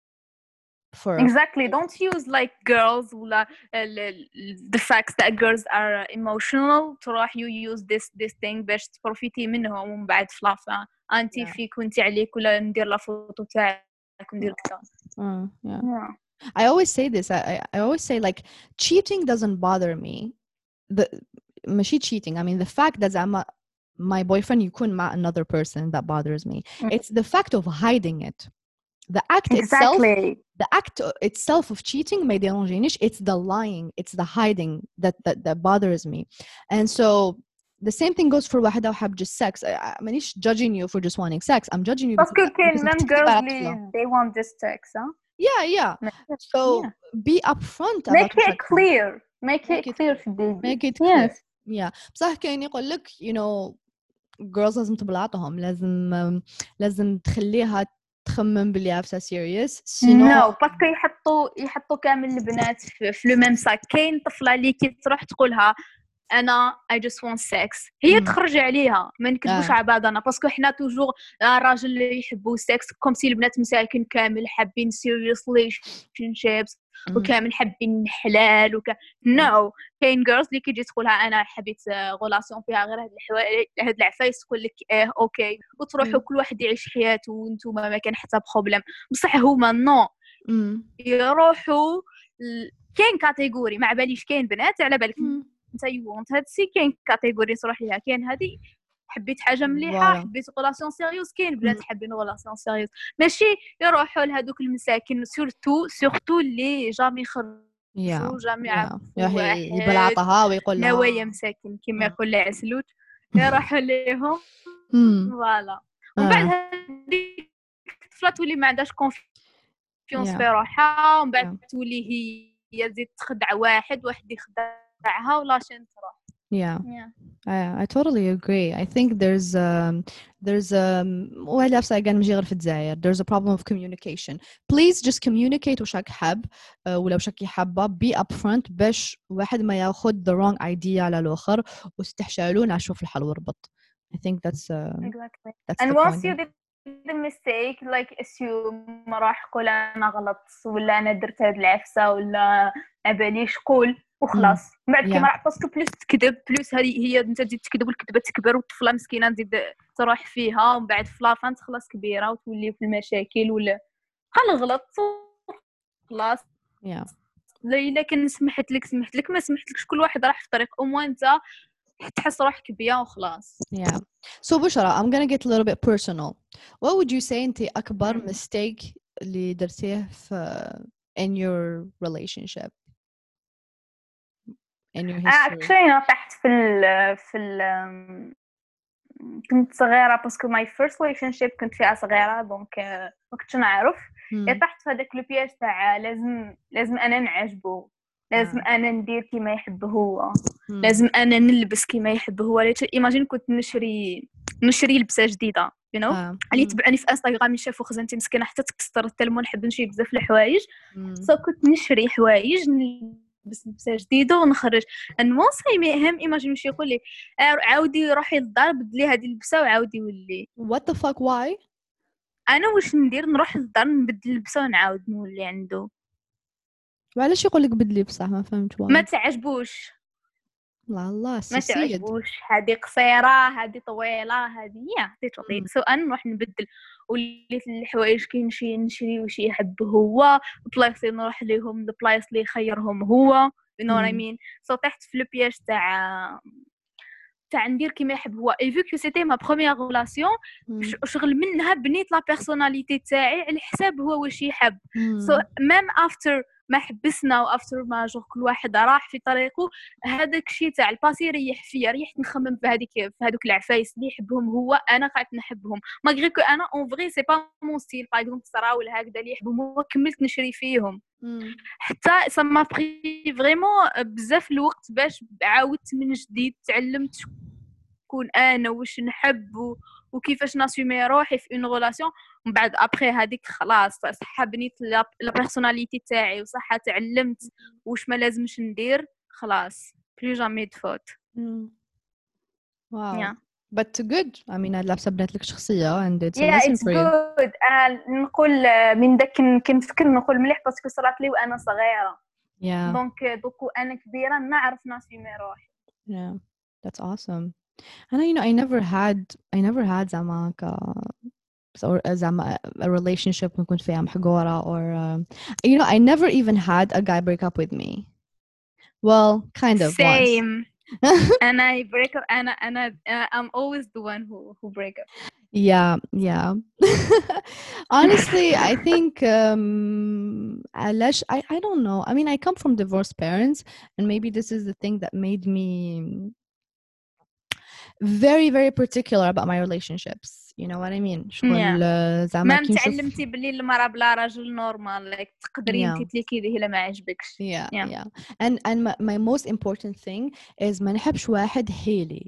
For exactly. Don't use like girls ولا the facts that girls are emotional تروح you use this this thing باش تبروفيتي منهم ومن بعد فلافا انتي yeah. فيك وانتي عليك ولا ندير لا فوتو تاعك وندير كذا. uh, yeah. yeah. I always say this. I I always say like cheating doesn't bother me. The ماشي cheating. I mean the fact that I'm a, my boyfriend يكون مع another person that bothers me. mm. It's the fact of hiding it. The act exactly. itself the act itself of cheating ما يديرونجينيش. It's the lying, it's the hiding that that that bothers me. And so the same thing goes for واحدة وحاب just sex. I مانيش judging you for just wanting sex. I'm judging you because because men girls li, they want this sex huh? yeah yeah so yeah. be upfront make about it clear make, make it it clear clear. make it yes. clear yeah بصح كاين يقول لك you know girls لازم تبلاطهم لازم لازم تخليها تخمم بلي عفسة serious سينو نو باسكو يحطوا يحطوا كامل البنات في, في لو ميم ساك. كاين طفله اللي كي تروح تقولها انا I just want sex هي مم. تخرج عليها ما نكذبوش آه. على بعضنا باسكو حنا توجور الراجل اللي يحبوا السكس كوم سي البنات مساكن كامل حابين سيريوس ريليشنشيبس مم. وكامل حابين حلال وك نو كاين جيرلز اللي كيجي تقولها انا حبيت غولاسيون فيها غير هاد الحوايج هاد العفايس تقول لك اه اوكي وتروحوا مم. كل واحد يعيش حياته وانتم ما كان حتى بروبليم بصح هما نو مم. يروحوا ل- كاين كاتيجوري ما باليش كاين بنات على بالك مم. انت يوونت هادشي كاين كاتيجوري تروح ليها كاين هادي حبيت حاجه مليحه فوالا. حبيت غولاسيون سيريوس كاين مم. بنات حابين غولاسيون سيريوس ماشي يروحوا لهذوك المساكن سورتو سورتو اللي جامي خرجوا يا جامي يا عرفوا يا واحد يبلعطها ويقول نوايا لها مساكن كما مم. يقول العسلوت يروحوا ليهم مم. فوالا ومن بعد آه. هذيك الطفله تولي ما عندهاش كونفيونس في يا روحها ومن بعد يا تولي هي تزيد تخدع واحد واحد يخدعها ولا شين تروح yeah. yeah. I, I totally agree. I think there's um, there's um وهلا بس again مجي غير في الجزائر there's a problem of communication. Please just communicate وش راك حاب uh, ولا وش راكي حابة be upfront باش واحد ما ياخد the wrong idea على الآخر وتستحشالون عشوف الحل وربط. I think that's uh, exactly that's and the once point. you did the mistake like assume ما راح قول انا غلط ولا انا درت هاد العفسه ولا ما باليش قول وخلاص Mm. من بعد كيما Yeah. راح باسكو بلوس تكذب بلوس هذه هي انت تزيد تكذب والكذبه تكبر والطفله مسكينه تزيد تروح فيها ومن بعد في لافان تخلص كبيره وتولي في المشاكل ولا غلط خلاص Yeah. لا الا كان سمحت لك سمحت لك ما سمحتلكش كل واحد راح في طريق او موان انت تحس روحك بيا وخلاص. Yeah. So بشرى I'm gonna get a little bit personal. What would you say أنت أكبر Mm. mistake اللي درتيه في in your relationship in your history? actually انا طحت في ال في ال كنت صغيره باسكو ماي فيرست ريليشن شيب كنت فيها صغيره دونك ما كنتش نعرف Hmm. طحت في هذاك لو بياج تاع لازم لازم انا نعجبو لازم آه. انا ندير كيما يحب هو Hmm. لازم انا نلبس كيما يحب هو ايماجين كنت نشري نشري لبسه جديده you know آه. اللي Hmm. تبعني في انستغرام يشافوا خزنتي مسكينه حتى تكسر التلمون نحب نشري بزاف الحوايج Hmm. سو كنت نشري حوايج نلبس لبسه جديده ونخرج المهم هم ايماجين شي يقول لي عاودي روحي للدار بدلي هذه اللبسه وعاودي ولي What the fuck why? انا واش ندير نروح للدار نبدل اللبسه ونعاود نولي عنده وعلاش يقول لك بدلي بصح ما فهمت ما why. تعجبوش لا الله ما سيد. تعجبوش هذه قصيره هذه طويله هذه يا تيتوطي Hmm. سو انا نروح نبدل وليت الحوايج كي نمشي نشري واش يحب هو بلايص نروح ليهم البلايص اللي يخيرهم هو you know what I Hmm. mean سو طحت في لو بياج تاع تاع ندير كيما يحب هو اي فو كو سيتي ما بروميير ريلاسيون Hmm. شغل منها بنيت لا بيرسوناليتي تاعي على حساب هو واش يحب سو Hmm. ميم افتر ما حبسنا وافتر ما جو كل واحد راح في طريقه هذاك الشيء تاع الباسي ريح فيا ريحت نخمم في هذيك في هذوك العفايس اللي يحبهم هو انا قاعده نحبهم ماغري كو انا اون فري سي با مون ستيل باغ اكزومبل سراول هكذا اللي يحبهم هو كملت نشري فيهم Hmm. حتى سما بري فريمون بزاف الوقت باش عاودت من جديد تعلمت كون انا واش نحب و... وكيفاش ناسومي روحي في اون ريلاسيون ومن بعد ابري هذيك خلاص صح بنيت لا بيرسوناليتي تاعي وصح تعلمت واش ما لازمش ندير خلاص بلو جامي دفوت Hmm. Wow. يا But good. I mean هاد لابسة بنات لك شخصية and it's a يا lesson اتس for you. جود نقول آه، من داك كنفكر نقول مليح باسكو صرات لي وانا صغيره Yeah. دونك دوكو انا كبيره نعرف ناسومي روحي Yeah. That's awesome. And I, you know, I never had, I never had زعما ك or زعما a relationship كنت فيها محقورة or um, you know, I never even had a guy break up with me. Well, kind of once. same انا break up انا انا uh, I'm always the one who who break up Yeah, yeah. Honestly, I think um علاش I I don't know. I mean, I come from divorced parents and maybe this is the thing that made me very very particular about my relationships. You know what I mean? شغل Yeah. زعما ما كي نشوف متعلمتي باللي المرأة بلا راجل نورمال like تقدري Yeah. انت تليكي الا ما عجبكش Yeah, Yeah. yeah. And and my, my most important thing is ما نحبش واحد هيلي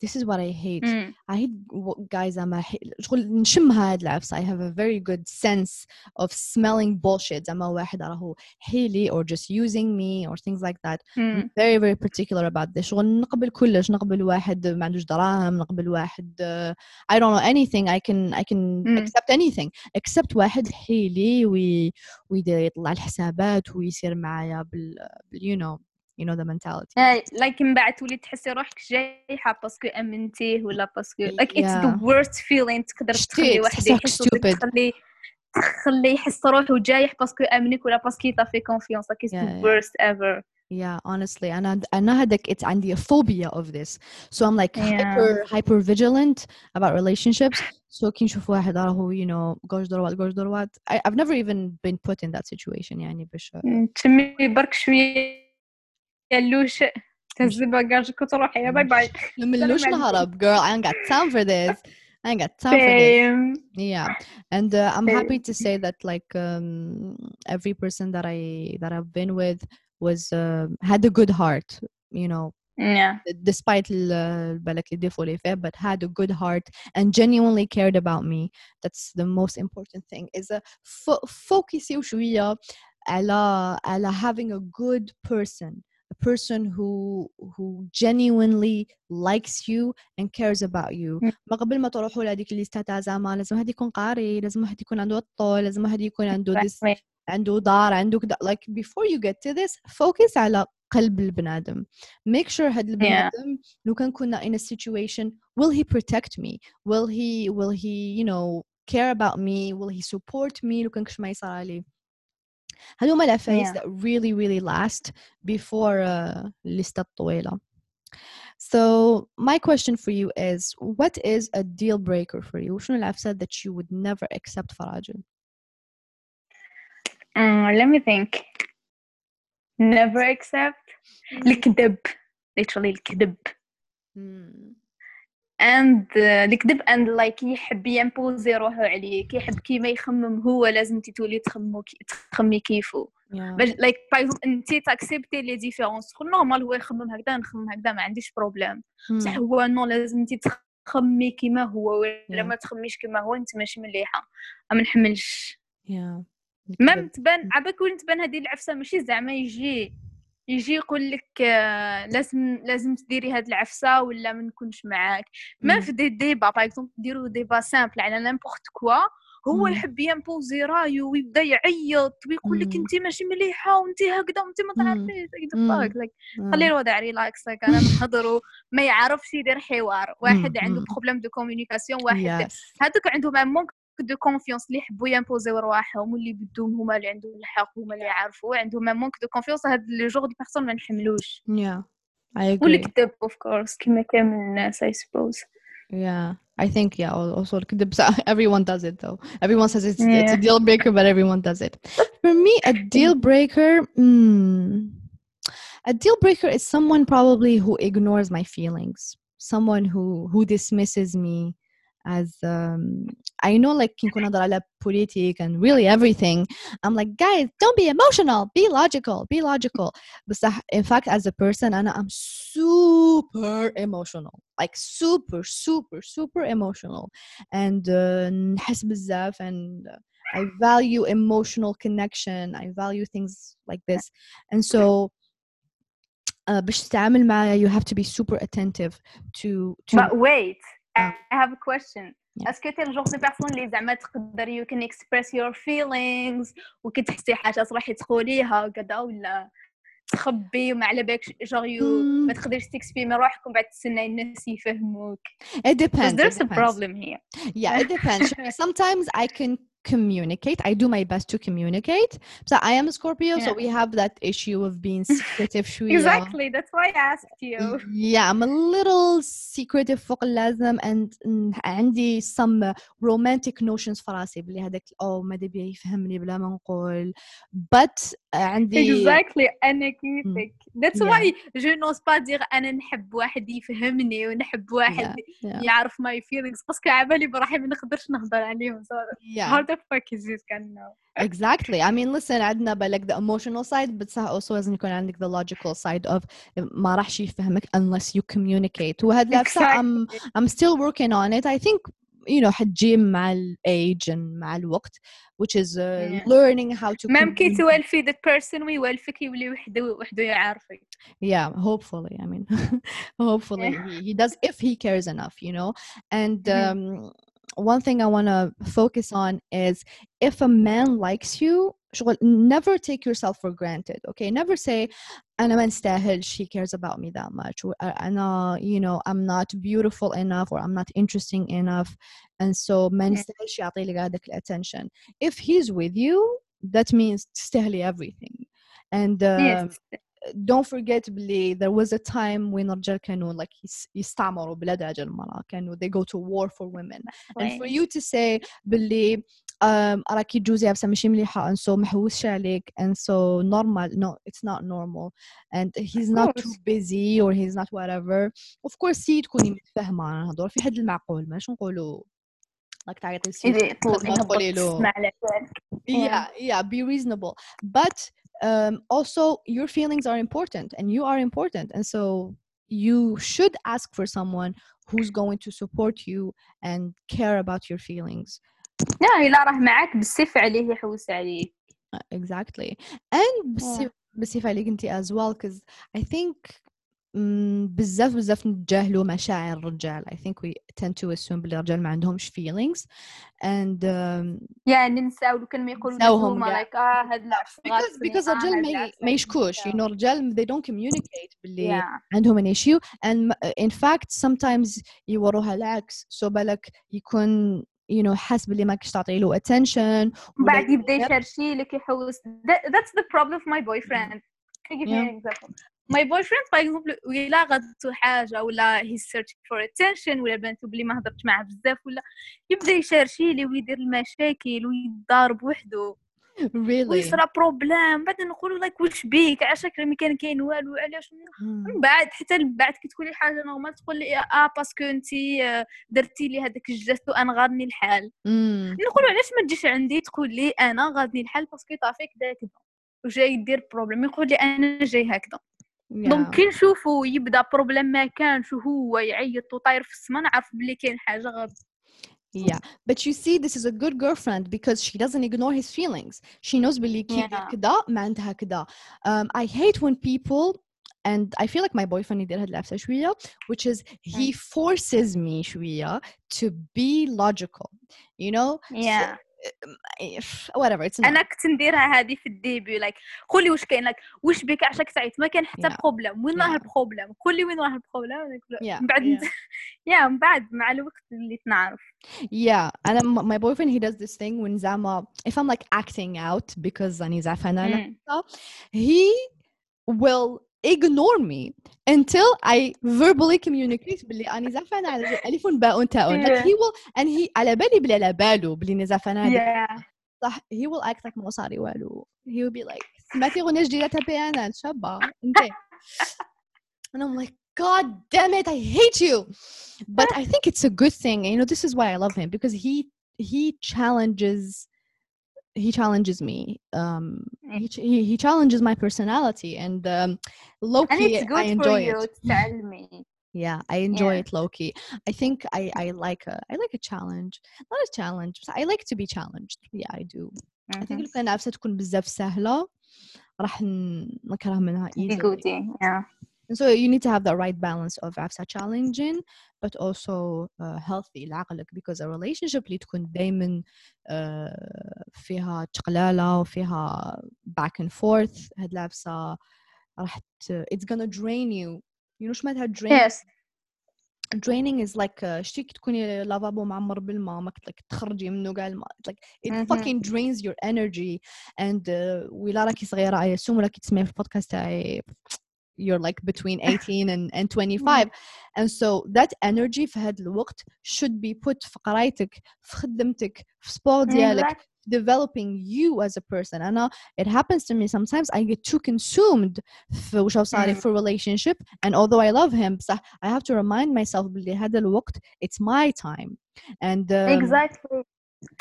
this is what I hate. Mm. I hate w- guys زعما شغل نشمها هاد العفسة. I have a very good sense of smelling bullshit زعما واحد راهو حيلي or just using me or things like that. I'm Mm. very very particular about this. شغل نقبل كلش، نقبل واحد ما عندوش دراهم، نقبل واحد uh, I don't know anything. I can I can Mm. accept anything except واحد حيلي وي ويدير يطلع الحسابات ويصير معايا بال you know you know the mentality. هاي like من بعد تولي تحسي روحك جايحة باسكو امنتيه ولا باسكو like it's the Yeah. worst feeling تقدر تخلي شتيت واحد تحسك يحس ولا stupid. تخلي تخلي يحس روحه جايح باسكو امنك ولا باسكو يطفي confiance like it's Yeah, the yeah. worst ever. Yeah, honestly, أنا أنا هذاك it's عندي a phobia of this. So I'm like Yeah. hyper hyper vigilant about relationships. So كي نشوف واحد راهو you know gosh دروات gosh دروات I I've never even been put in that situation يعني باش تسمي برك شوية يلوش تهز باجاجك وتروحي يا باي باي. نملوش نهرب girl. I ain't got time for this. I ain't got time for this. Same. Yeah, and uh, I'm Same. happy to say that like um, every person that I that I've been with was uh, had a good heart, you know, Yeah. despite ال- بالك اللي défaut اللي فيه, but had a good heart and genuinely cared about me. That's the most important thing. Is a fo- focus شوية على على having a good person, a person who who genuinely likes you and cares about you. Mm. ما قبل ما تروحوا لهذيك الليستة تاع زعما لازم واحد يكون قاري، لازم واحد يكون عنده الطول، لازم واحد يكون عنده this Exactly. عنده دار، عنده كذا. Like before you get to this, focus على قلب البنادم. Make sure هاد البنادم لو كان كنا in a situation, will he protect me? Will he will he you know care about me? Will he support me لو كان كش ما يصير لي؟ هذوما العفايس Yeah. that really really last before uh, الليستة الطويلة. So my question for you is, what is a deal breaker for you? وشنو العفسة that you would never accept for راجل؟ Mm, let me think. Never accept الكذب. Literally الكذب. Mm. and uh, الكذب and like يحب يمبوزي روحه عليك، يحب كيما يخمم هو لازم انت تولي تخمو كي تخمي كيفو. Yeah. باش like par exemple انت تاكسبتي لي ديفيرونس، خو نورمال هو يخمم هكذا نخمم هكذا ما عنديش بروبليم. بصح هو نو لازم انت تخمي كيما هو، ولا Yeah. ما تخميش كيما هو انت ماشي مليحه. ما نحملش. Yeah. مام تبان عباك وين تبان هذه العفسه ماشي زعما يجي يجي يقول لك آه لازم لازم تديري هاد العفسه ولا ما نكونش معاك. ما في دي ديبا باغ اكزومبل ديروا ديبا سامبل على نيمبورط كوا، هو يحب يمبوزي رايو ويبدا يعيط ويقول لك انت ماشي مليحه وانت هكذا وانت ما تعرفيش فاك لك. خلي الوضع ريلاكس لك. انا نهضروا ما يعرفش يدير حوار. واحد عنده بروبليم دو كومونيكاسيون، واحد هذوك عندهم مونك دو كونفيونس اللي يحبوا يمبوزيو رواحهم واللي بدهم هما اللي عندهم الحق هما اللي يعرفوا عندهم مونك دو كونفيونس. هاد لي جور دي بيرسون ما نحملوش. Yeah, I agree. والكذب اوف كورس كيما كامل الناس I suppose. Yeah, I think yeah. Also, الكذب everyone does it though. Everyone says it's Yeah. it's a deal breaker, but everyone does it. For me, a deal breaker, mm, a deal breaker is someone probably who ignores my feelings, someone who who dismisses me as um I know like كي نكون نهضر على politic and really everything, I'm like, guys, don't be emotional, be logical, be logical. But in fact as a person أنا I'm super emotional, like super super super emotional, and uh, نحس بزاف, and uh, I value emotional connection, I value things like this, and so uh, باش تتعامل معايا you have to be super attentive to to But wait, uh, I have a question. Yeah. Est-ce que t'es le genre de personne اللي زعما تقدر you can express your feelings وكتحسي حاجه تروحي تقوليها وكذا، ولا تخبي وما على بالكش genre you Mm. ما تقدرش تكسبيمي روحك ومن بعد تستناي الناس يفهموك؟ It depends. Because there's It a depends. problem here. Yeah, it depends. Sometimes I can communicate. I do my best to communicate. So I am a Scorpio, Yeah. so we have that issue of being secretive. شوية. Exactly, that's why I asked you. Yeah, I'm a little secretive فوق اللازم, and mm, عندي some uh, romantic notions في راسي بلي هذاك أو ما دبي يفهمني بلا ما نقول. But uh, عندي Exactly, أنا كيفك. That's Yeah. why je n'ose pas dire أنا نحب واحد يفهمني ونحب واحد Yeah, yeah. يعرف my feelings باسكو عبالي بروحي ما نقدرش نهضر عليهم. So Yeah. hard the fuck is this guy now? Exactly. I mean, listen, عندنا بقى like the emotional side, but صح also لازم يكون عندك the logical side of ما راحش يفهمك unless you communicate. وهاد لابسة I'm I'm still working on it. I think you know حتجي مع ال age and مع الوقت, which is uh, Yeah. learning how to مام كي communicate. توالفي that person ويوالفك يولي وحده وحده يعرفك. Yeah, hopefully. I mean, hopefully he, he does if he cares enough, you know. And um, one thing I want to focus on is if a man likes you, شغل, never take yourself for granted. Okay, never say أنا ما نستاهل, she cares about me that much. Or, أنا, you know, I'm not beautiful enough or I'm not interesting enough, and so ما نستاهلش يعطي لك هذاك attention. If he's with you, that means تستاهلي everything. And um, Yes. don't forget بلي there was a time when الرجال كانوا like يس- يستعمروا بلاد أجل المرأة, كانوا they go to war for women. And for you to say بلي um, راكي جوزي بس ماشي مليحة and so محوسش عليك and so normal, no, it's not normal, and he's Of not course. too busy or he's not whatever. Of course سي تكوني متفاهمة على هذول في حد المعقول, ماش نقولوا like تعيطي لسيد إذا يطول ما تقولي يهبط له تسمع على بالك. yeah yeah be reasonable, but um, also your feelings are important and you are important, and so you should ask for someone who's going to support you and care about your feelings. لا إلا راه معاك بالسيف عليه يحوس عليك. Uh, exactly. and بالسيف بالسيف عليك انت as well, because I think mm, بزاف بزاف نتجاهلوا مشاعر الرجال. I think we tend to assume بلي الرجال ما عندهمش feelings and um, يعني ننساو لو كان ما يقولوا نساوهم لهم كاع. like اه هاد العفس because غاصني because اه الرجال هاد ما العفس ما يشكوش, you know, الرجال they don't communicate باللي yeah. عندهم an issue, and in fact sometimes يوروها العكس, so بالك يكون you know حاس باللي ماكش تعطي له attention ولا بعد يبدا يشرشي لك يحوس. That, that's the problem of my boyfriend. Can you give me Yeah. an example? My boyfriend for example ولا غدتو حاجه ولا he's searching for attention ولا بنتو بلي ما هضرتش معاه بزاف ولا يبدا يشرشي لي ويدير المشاكل ويضارب وحده really ويصرا بروبلام. بعد نقولوا like واش بيك عشاك ما كان كاين والو علاش. من بعد حتى من بعد كي تقولي حاجه نورمال تقول لي اه باسكو انتي درتي لي هذاك الجست وانا غادني الحال. نقولوا علاش ما تجيش عندي تقول لي انا غادني الحال باسكو طافيك داك وجاي يدير بروبليم, يقول لي انا جاي هكذا. دونك كي نشوفو يبدا بروبليم ما كانش وهو يعيط وطاير في السما نعرف بلي كاين حاجه غلط. Yeah, but you see this is a good girlfriend because she doesn't ignore his feelings. She knows بلي كي يدير كدا ما عندها كدا. um, I hate when people, and I feel like my boyfriend يدير هاد العفسة شوية, which is he forces me شوية to be logical, you know. yeah. So, whatever, it's not. انا كنت نديرها هذه في الديبي لايك like, قولي واش كاين لك like, واش بك عشاك تعيط ما كان حتى yeah. بروبليم وين راه yeah. البروبليم قولي وين راه البروبليم yeah. من بعد yeah. يا من بعد مع الوقت اللي تنعرف. yeah and um, my boyfriend he does this thing when زعما if I'm like acting out because راني زعفانة على he will ignore me until I verbally communicate بلي أنا زعفانة على ألف باء تاء. like he will and he على بالي بلي على باله بلي أنا زعفانة هذيك صح. he will act like ما صاري والو. he will be like سمعتي أغنية جديدة تاع بيانا شابة انت. and I'm like God damn it, I hate you. But I think it's a good thing. You know, this is why I love him, because he he challenges he challenges me. Um, he he, he challenges my personality, and um, low key, and it's good I enjoy for you it. to tell me. Yeah, I enjoy yeah. it low key. I think I I like a I like a challenge. Not a challenge, but I like to be challenged. Yeah, I do. Mm-hmm. I think لو كان عفسة تكون بزاف سهلة راح نكره منها easily. Yeah. And so you need to have the right balance of عفسة challenging but also uh, healthy لعقلك, because a relationship اللي تكون دايما uh, فيها تقلالة وفيها back and forth هاد العفسة راح it's gonna drain you. you know شو معناتها drain? Yes. draining is like شتي كي تكوني لافابو معمر بالماء ما كنت like تخرجي منه كاع الماء like it mm-hmm. fucking drains your energy. and uh, ولا راكي صغيرة أي سوم ولا كي تسمعي في البودكاست تاعي you're like between eighteen and, and twenty-five mm-hmm. and so that energy في هذا الوقت should be put في قرايتك في خدمتك في سبور ديالك mm-hmm. developing you as a person. أنا it happens to me sometimes I get too consumed في وش صاري في relationship, and although I love him صح I have to remind myself بلي هذا الوقت it's my time. and um, exactly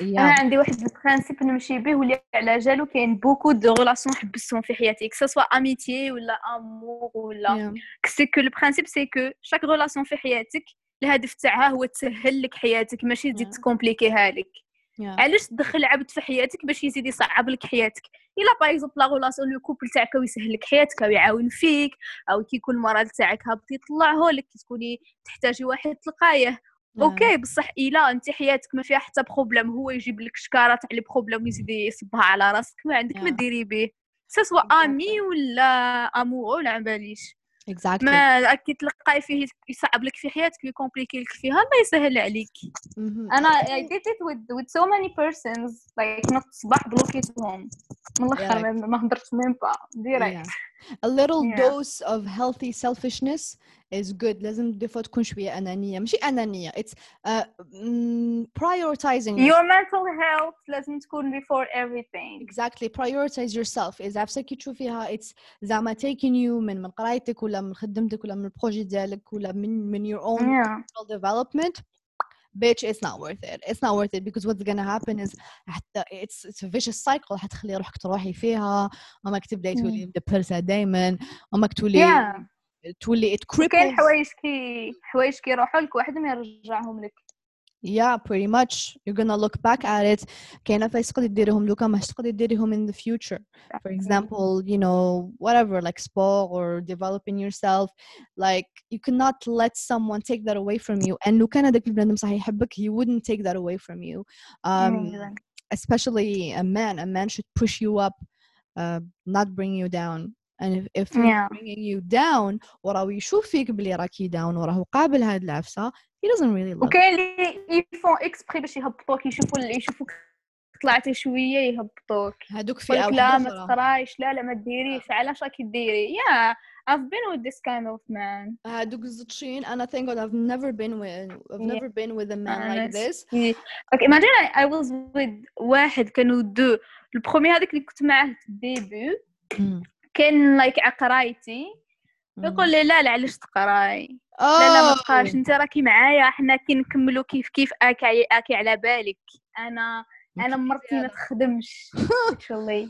انا yeah عندي واحد البرانسيب نمشي به واللي على جالو كاين بوكو دو ريلاسيون حبستهم في حياتي كسا سوا اميتي ولا امور ولا yeah سي كو البرانسيب سي كو شاك ريلاسيون في حياتك الهدف تاعها هو تسهل لك حياتك ماشي تزيد yeah تكومبليكيها لك. yeah علاش تدخل عبد في حياتك باش يزيد يصعب لك حياتك؟ الا باغ اكزومبل لا ريلاسيون لو كوبل تاعك ويسهل لك حياتك او يعاون فيك او كي يكون المرض تاعك هابط يطلعه لك كي تكوني تحتاجي واحد تلقايه yeah اوكي. بصح الا انت حياتك ما فيها حتى بروبليم هو يجيب لك شكاره تاع لي بروبليم ويزيد يصبها على راسك ما عندك ما yeah ديري به سوا exactly امي ولا امورو ولا عباليش exactly ما كي تلقاي فيه يصعب لك في حياتك ويكومبليكي لك فيها الله يسهل عليك. mhm انا I did it with with so many persons like نط صباح بلوكيتهم من الاخر yeah ما ما هضرت ميم با ديريكت. yeah a little yeah dose of healthy selfishness is good لازم دي فوا تكون شوية أنانية ماشي أنانية it's uh, mm, prioritizing your yourself mental health لازم تكون before everything. exactly prioritize yourself إذا عفسك تشوفيها it's زعما taking you من من قرايتك ولا من خدمتك ولا من البروجي ديالك ولا من من your own yeah personal development bitch it's not worth it it's not worth it because what's gonna happen is حتى it's it's a vicious cycle حتخلي روحك تروحي فيها أماك تبدأي تولي مدبرسة دايما أماك تولي yeah تولي it وكاين cripples حوايج كي حوايج كي يروحوا لك واحد ما يرجعهم لك. yeah pretty much you're gonna look back at it كاين فايس تقدري ديريهم دوكا ماش تقدري ديريهم in the future for example you know whatever like sport or developing yourself like you cannot let someone take that away from you and لو كان هذاك البنادم صح يحبك he wouldn't take that away from you um, especially a man a man should push you up uh, not bring you down and if, if he's yeah bringing you down وراه يشوف فيك بلي راكي down وراه قابل هاد العفسة he doesn't really love وكاين اللي يفون اكسبري باش يهبطوك يشوفوا اللي يشوفوك طلعتي شويه يهبطوك هادوك فئة يقولك لا واحدة ما أخرى تقرايش لا لا ما ديريش علاش راكي ديري. yeah I've been with this kind of man. هادوك الزطشين أنا thank God I've never been with I've yeah never been with a man like honest. this yeah. okay imagine I, I was with واحد كانوا دو البرومي هذاك اللي كنت معاه في الديبي mm. كان لايك like عقرايتي mm. يقول لي لا لا علاش تقراي oh. لا لا ما تقراش انت راكي معايا حنا كي نكملوا كيف كيف اكي اكي على بالك انا انا مرتي ما تخدمش actually.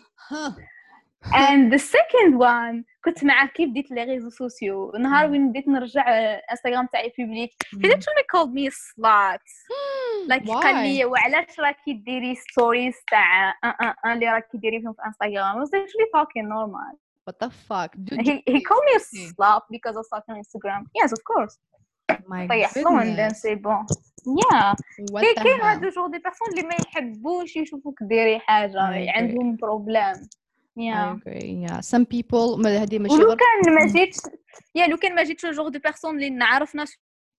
and the second one كنت معاه كي بديت لي ريزو سوسيو نهار وين بديت نرجع انستغرام تاعي بوبليك he literally called me a slut like قال لي وعلاش راكي ديري ستوريز تاع ان ان اللي راكي ديري فيهم في انستغرام was actually talking normal. what the fuck dude, he he called me a slut because I was on Instagram. yes of course my طيحهم and then say bon yeah كاين كاين هادو جور دي بيرسون اللي ما يحبوش يشوفوك ديري حاجه عندهم بروبليم. yeah I agree yeah some people ما هذه ماشي غير لو غير كان ما جيتش يا لو كان ما جيتش جور دي بيرسون اللي نعرف ناس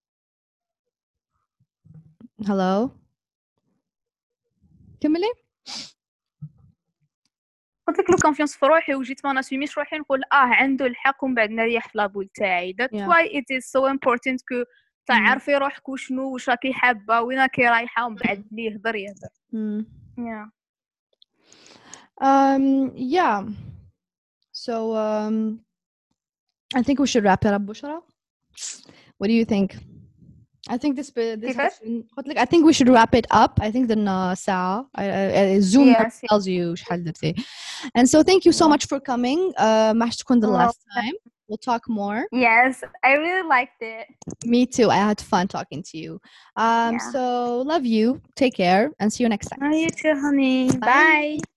hello كملي قلت لك لو كونفيونس في روحي وجيت ما ناسيميش روحي نقول اه عنده الحق ومن بعد نريح في لابول تاعي. that's yeah. why it is so important كو تعرفي روحك وشنو واش راكي حابه وين راكي رايحه ومن بعد اللي يهضر يهضر. mm. yeah um yeah so um I think we should wrap it up Bushra. What do you think? I think this this قلت لك I think we should wrap it up. I think the ساعة Zoom yes, tells you شحال درتي. And so thank you so much for coming. uh, ما تكون the last time. We'll talk more. Yes, I really liked it. Me too. I had fun talking to you. Um, yeah. So love you. Take care and see you next time. Oh, you too, honey. Bye. Bye.